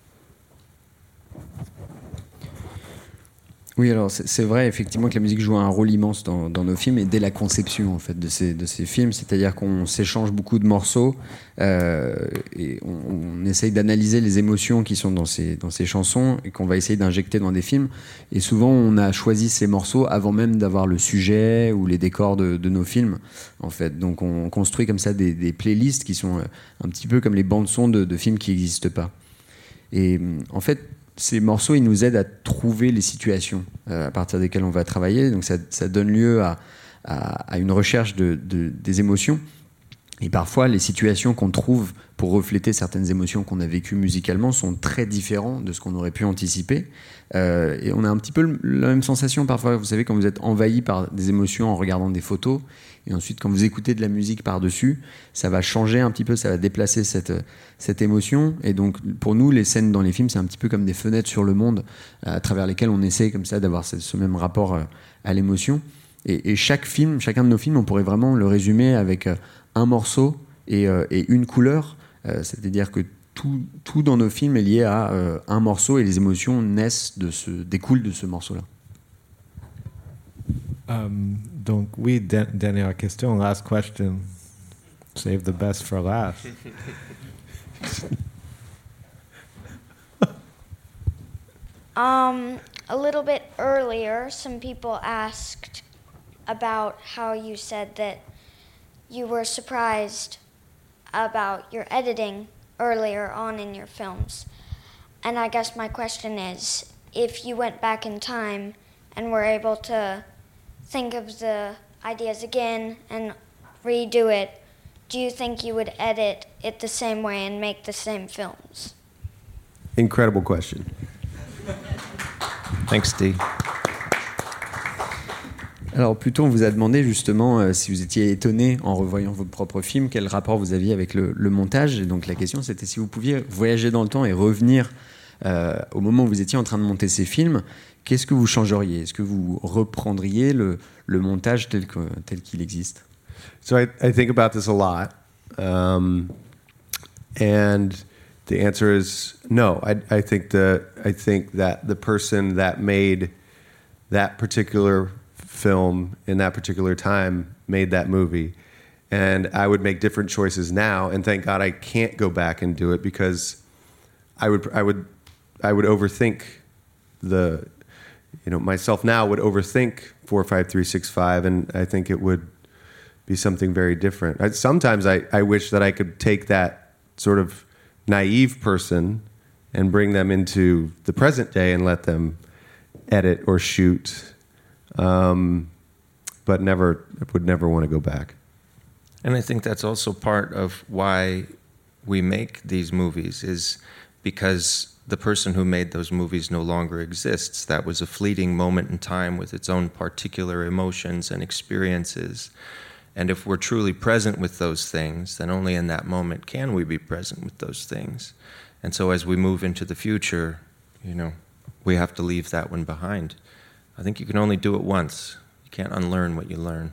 Oui, alors c'est vrai effectivement que la musique joue un rôle immense dans nos films, et dès la conception en fait de ces films, c'est-à-dire qu'on s'échange beaucoup de morceaux et on essaye d'analyser les émotions qui sont dans ces chansons et qu'on va essayer d'injecter dans des films. Et souvent, on a choisi ces morceaux avant même d'avoir le sujet ou les décors de nos films en fait. Donc, on construit comme ça des playlists qui sont un petit peu comme les bandes son de films qui n'existent pas. Et en fait, ces morceaux, ils nous aident à trouver les situations à partir desquelles on va travailler. Donc ça donne lieu à une recherche des émotions. Et parfois, les situations qu'on trouve pour refléter certaines émotions qu'on a vécues musicalement sont très différentes de ce qu'on aurait pu anticiper. Et on a un petit peu la même sensation parfois, vous savez, quand vous êtes envahi par des émotions en regardant des photos, et ensuite quand vous écoutez de la musique par-dessus, ça va changer un petit peu, ça va déplacer cette émotion. Et donc pour nous, les scènes dans les films, c'est un petit peu comme des fenêtres sur le monde, à travers lesquelles on essaie comme ça d'avoir ce même rapport à l'émotion. Et chaque film, chacun de nos films, on pourrait vraiment le résumer avec un morceau et une couleur, c'est-à-dire que tout dans nos films est lié à un morceau et les émotions découlent de ce morceau-là. Donc oui, dernière question, last question. Save the best for last. A little bit earlier, some people asked about how you said that you were surprised about your editing earlier on in your films. And I guess my question is, if you went back in time and were able to think of the ideas again and redo it, do you think you would edit it the same way and make the same films? Incredible question. Thanks, Steve. Alors plutôt on vous a demandé justement si vous étiez étonné en revoyant votre propre film, quel rapport vous aviez avec le montage. Et donc la question c'était si vous pouviez voyager dans le temps et revenir au moment où vous étiez en train de monter ces films, qu'est-ce que vous changeriez? Est-ce que vous reprendriez le montage tel qu'il existe? So I think about this a lot, and the answer is no. I think that the person that made that particular film in that particular time made that movie, and I would make different choices now. And thank God I can't go back and do it, because I would overthink myself now would overthink 45365, and I think it would be something very different. Sometimes I wish that I could take that sort of naive person and bring them into the present day and let them edit or shoot, but would never want to go back. And I think that's also part of why we make these movies, is because the person who made those movies no longer exists. That was a fleeting moment in time with its own particular emotions and experiences. And if we're truly present with those things, then only in that moment can we be present with those things. And so as we move into the future, we have to leave that one behind. I think you can only do it once. You can't unlearn what you learn.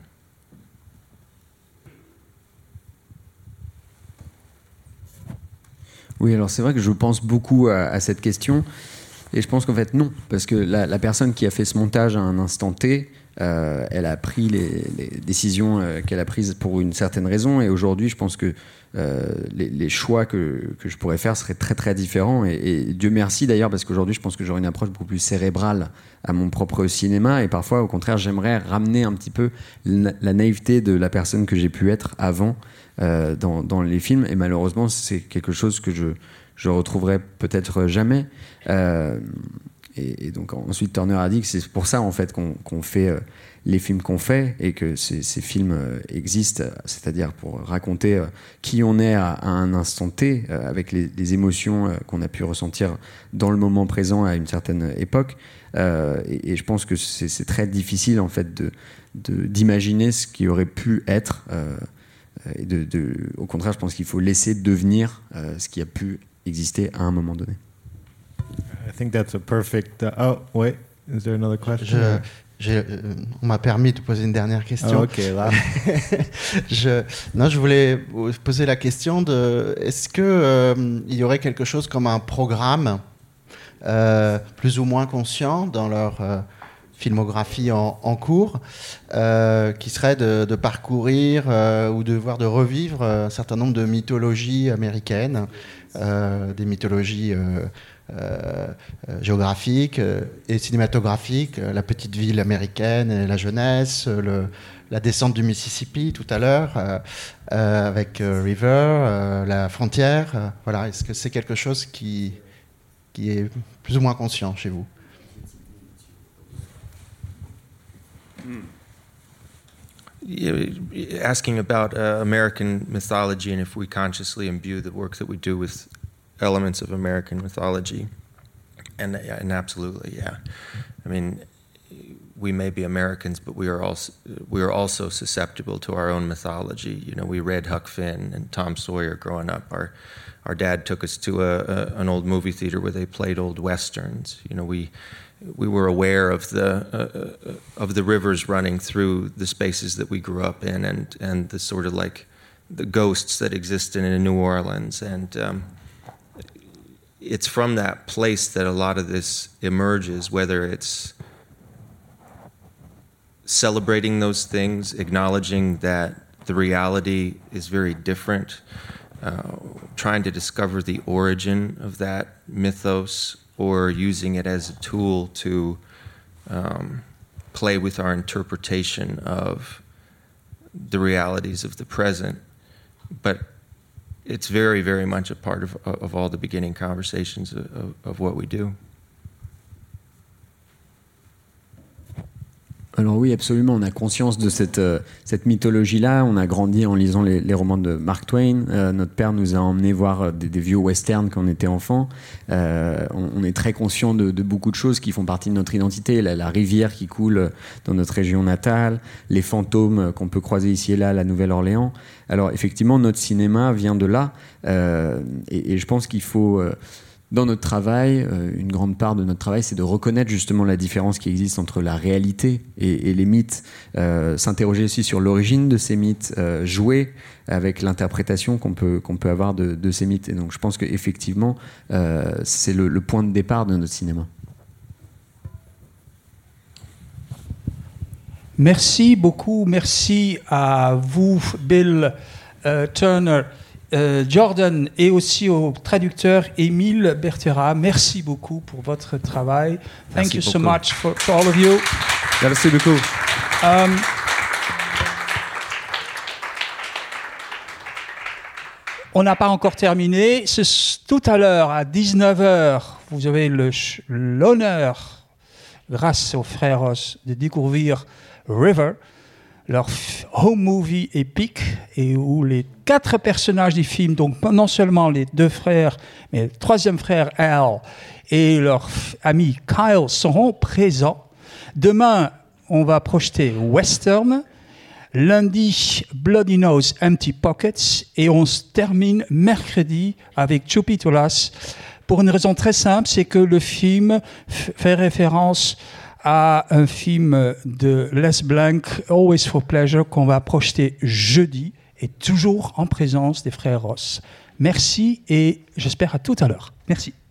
Oui, alors c'est vrai que je pense beaucoup à cette question, et je pense qu'en fait non, parce que la personne qui a fait ce montage à un instant T, elle a pris les décisions qu'elle a prises pour une certaine raison, et aujourd'hui je pense que les choix que je pourrais faire seraient très très différents, et Dieu merci d'ailleurs, parce qu'aujourd'hui je pense que j'aurai une approche beaucoup plus cérébrale à mon propre cinéma, et parfois au contraire j'aimerais ramener un petit peu la naïveté de la personne que j'ai pu être avant dans les films, et malheureusement c'est quelque chose que je retrouverai peut-être jamais. Et donc ensuite Turner a dit que c'est pour ça en fait qu'on fait les films qu'on fait, et que ces films existent, c'est-à-dire pour raconter qui on est à un instant T, avec les émotions qu'on a pu ressentir dans le moment présent à une certaine époque, et je pense que c'est très difficile en fait d'imaginer ce qui aurait pu être, et au contraire je pense qu'il faut laisser devenir ce qui a pu exister à un moment donné. I think that's a perfect. Oh, wait. Is there another question? On m'a permis de poser une dernière question. Oh, ok, là. Je voulais vous poser la question de est-ce que il y aurait quelque chose comme un programme plus ou moins conscient dans leur filmographie en cours, qui serait de parcourir ou de revivre un certain nombre de mythologies américaines, des mythologies géographiques et cinématographiques, la petite ville américaine et la jeunesse, la descente du Mississippi tout à l'heure, avec River, la frontière. Voilà. Est-ce que c'est quelque chose qui est plus ou moins conscient chez vous? asking about American mythology and if we consciously imbue the work that we do with elements of American mythology. And absolutely, yeah. I mean, we may be Americans, but we are also susceptible to our own mythology. You know, we read Huck Finn and Tom Sawyer growing up. Our dad took us to an old movie theater where they played old westerns. You know, we were aware of the rivers running through the spaces that we grew up in, and the sort of like the ghosts that existed in New Orleans. And it's from that place that a lot of this emerges, whether it's celebrating those things, acknowledging that the reality is very different, trying to discover the origin of that mythos, or using it as a tool to play with our interpretation of the realities of the present. But it's very, very much a part of all the beginning conversations of what we do. Alors oui, absolument, on a conscience de cette mythologie-là. On a grandi en lisant les romans de Mark Twain. Notre père nous a emmenés voir des vieux westerns quand on était enfant. On est très conscient de beaucoup de choses qui font partie de notre identité. La rivière qui coule dans notre région natale, les fantômes qu'on peut croiser ici et là à la Nouvelle-Orléans. Alors effectivement, notre cinéma vient de là. Et je pense qu'il faut... Dans notre travail, une grande part de notre travail, c'est de reconnaître justement la différence qui existe entre la réalité et les mythes, s'interroger aussi sur l'origine de ces mythes, jouer avec l'interprétation qu'on peut avoir de ces mythes. Et donc je pense qu'effectivement, c'est le point de départ de notre cinéma. Merci beaucoup, merci à vous, Bill Turner, Jordan, et aussi au traducteur Émile Bertera. Merci beaucoup pour votre travail. Thank you so much for all of you. Merci beaucoup. On n'a pas encore terminé. Tout à l'heure, à 19h, vous avez l'honneur, grâce aux frères Ross, de découvrir River, leur home movie épique, et où les 4 personnages du film, donc non seulement les 2 frères, mais le 3e frère Al et leur ami Kyle seront présents. Demain, on va projeter Western. Lundi, Bloody Nose, Empty Pockets. Et on se termine mercredi avec Chupitolas. Pour une raison très simple, c'est que le film fait référence à un film de Les Blanc, Always for Pleasure, qu'on va projeter jeudi, et toujours en présence des frères Ross. Merci, et j'espère à tout à l'heure. Merci.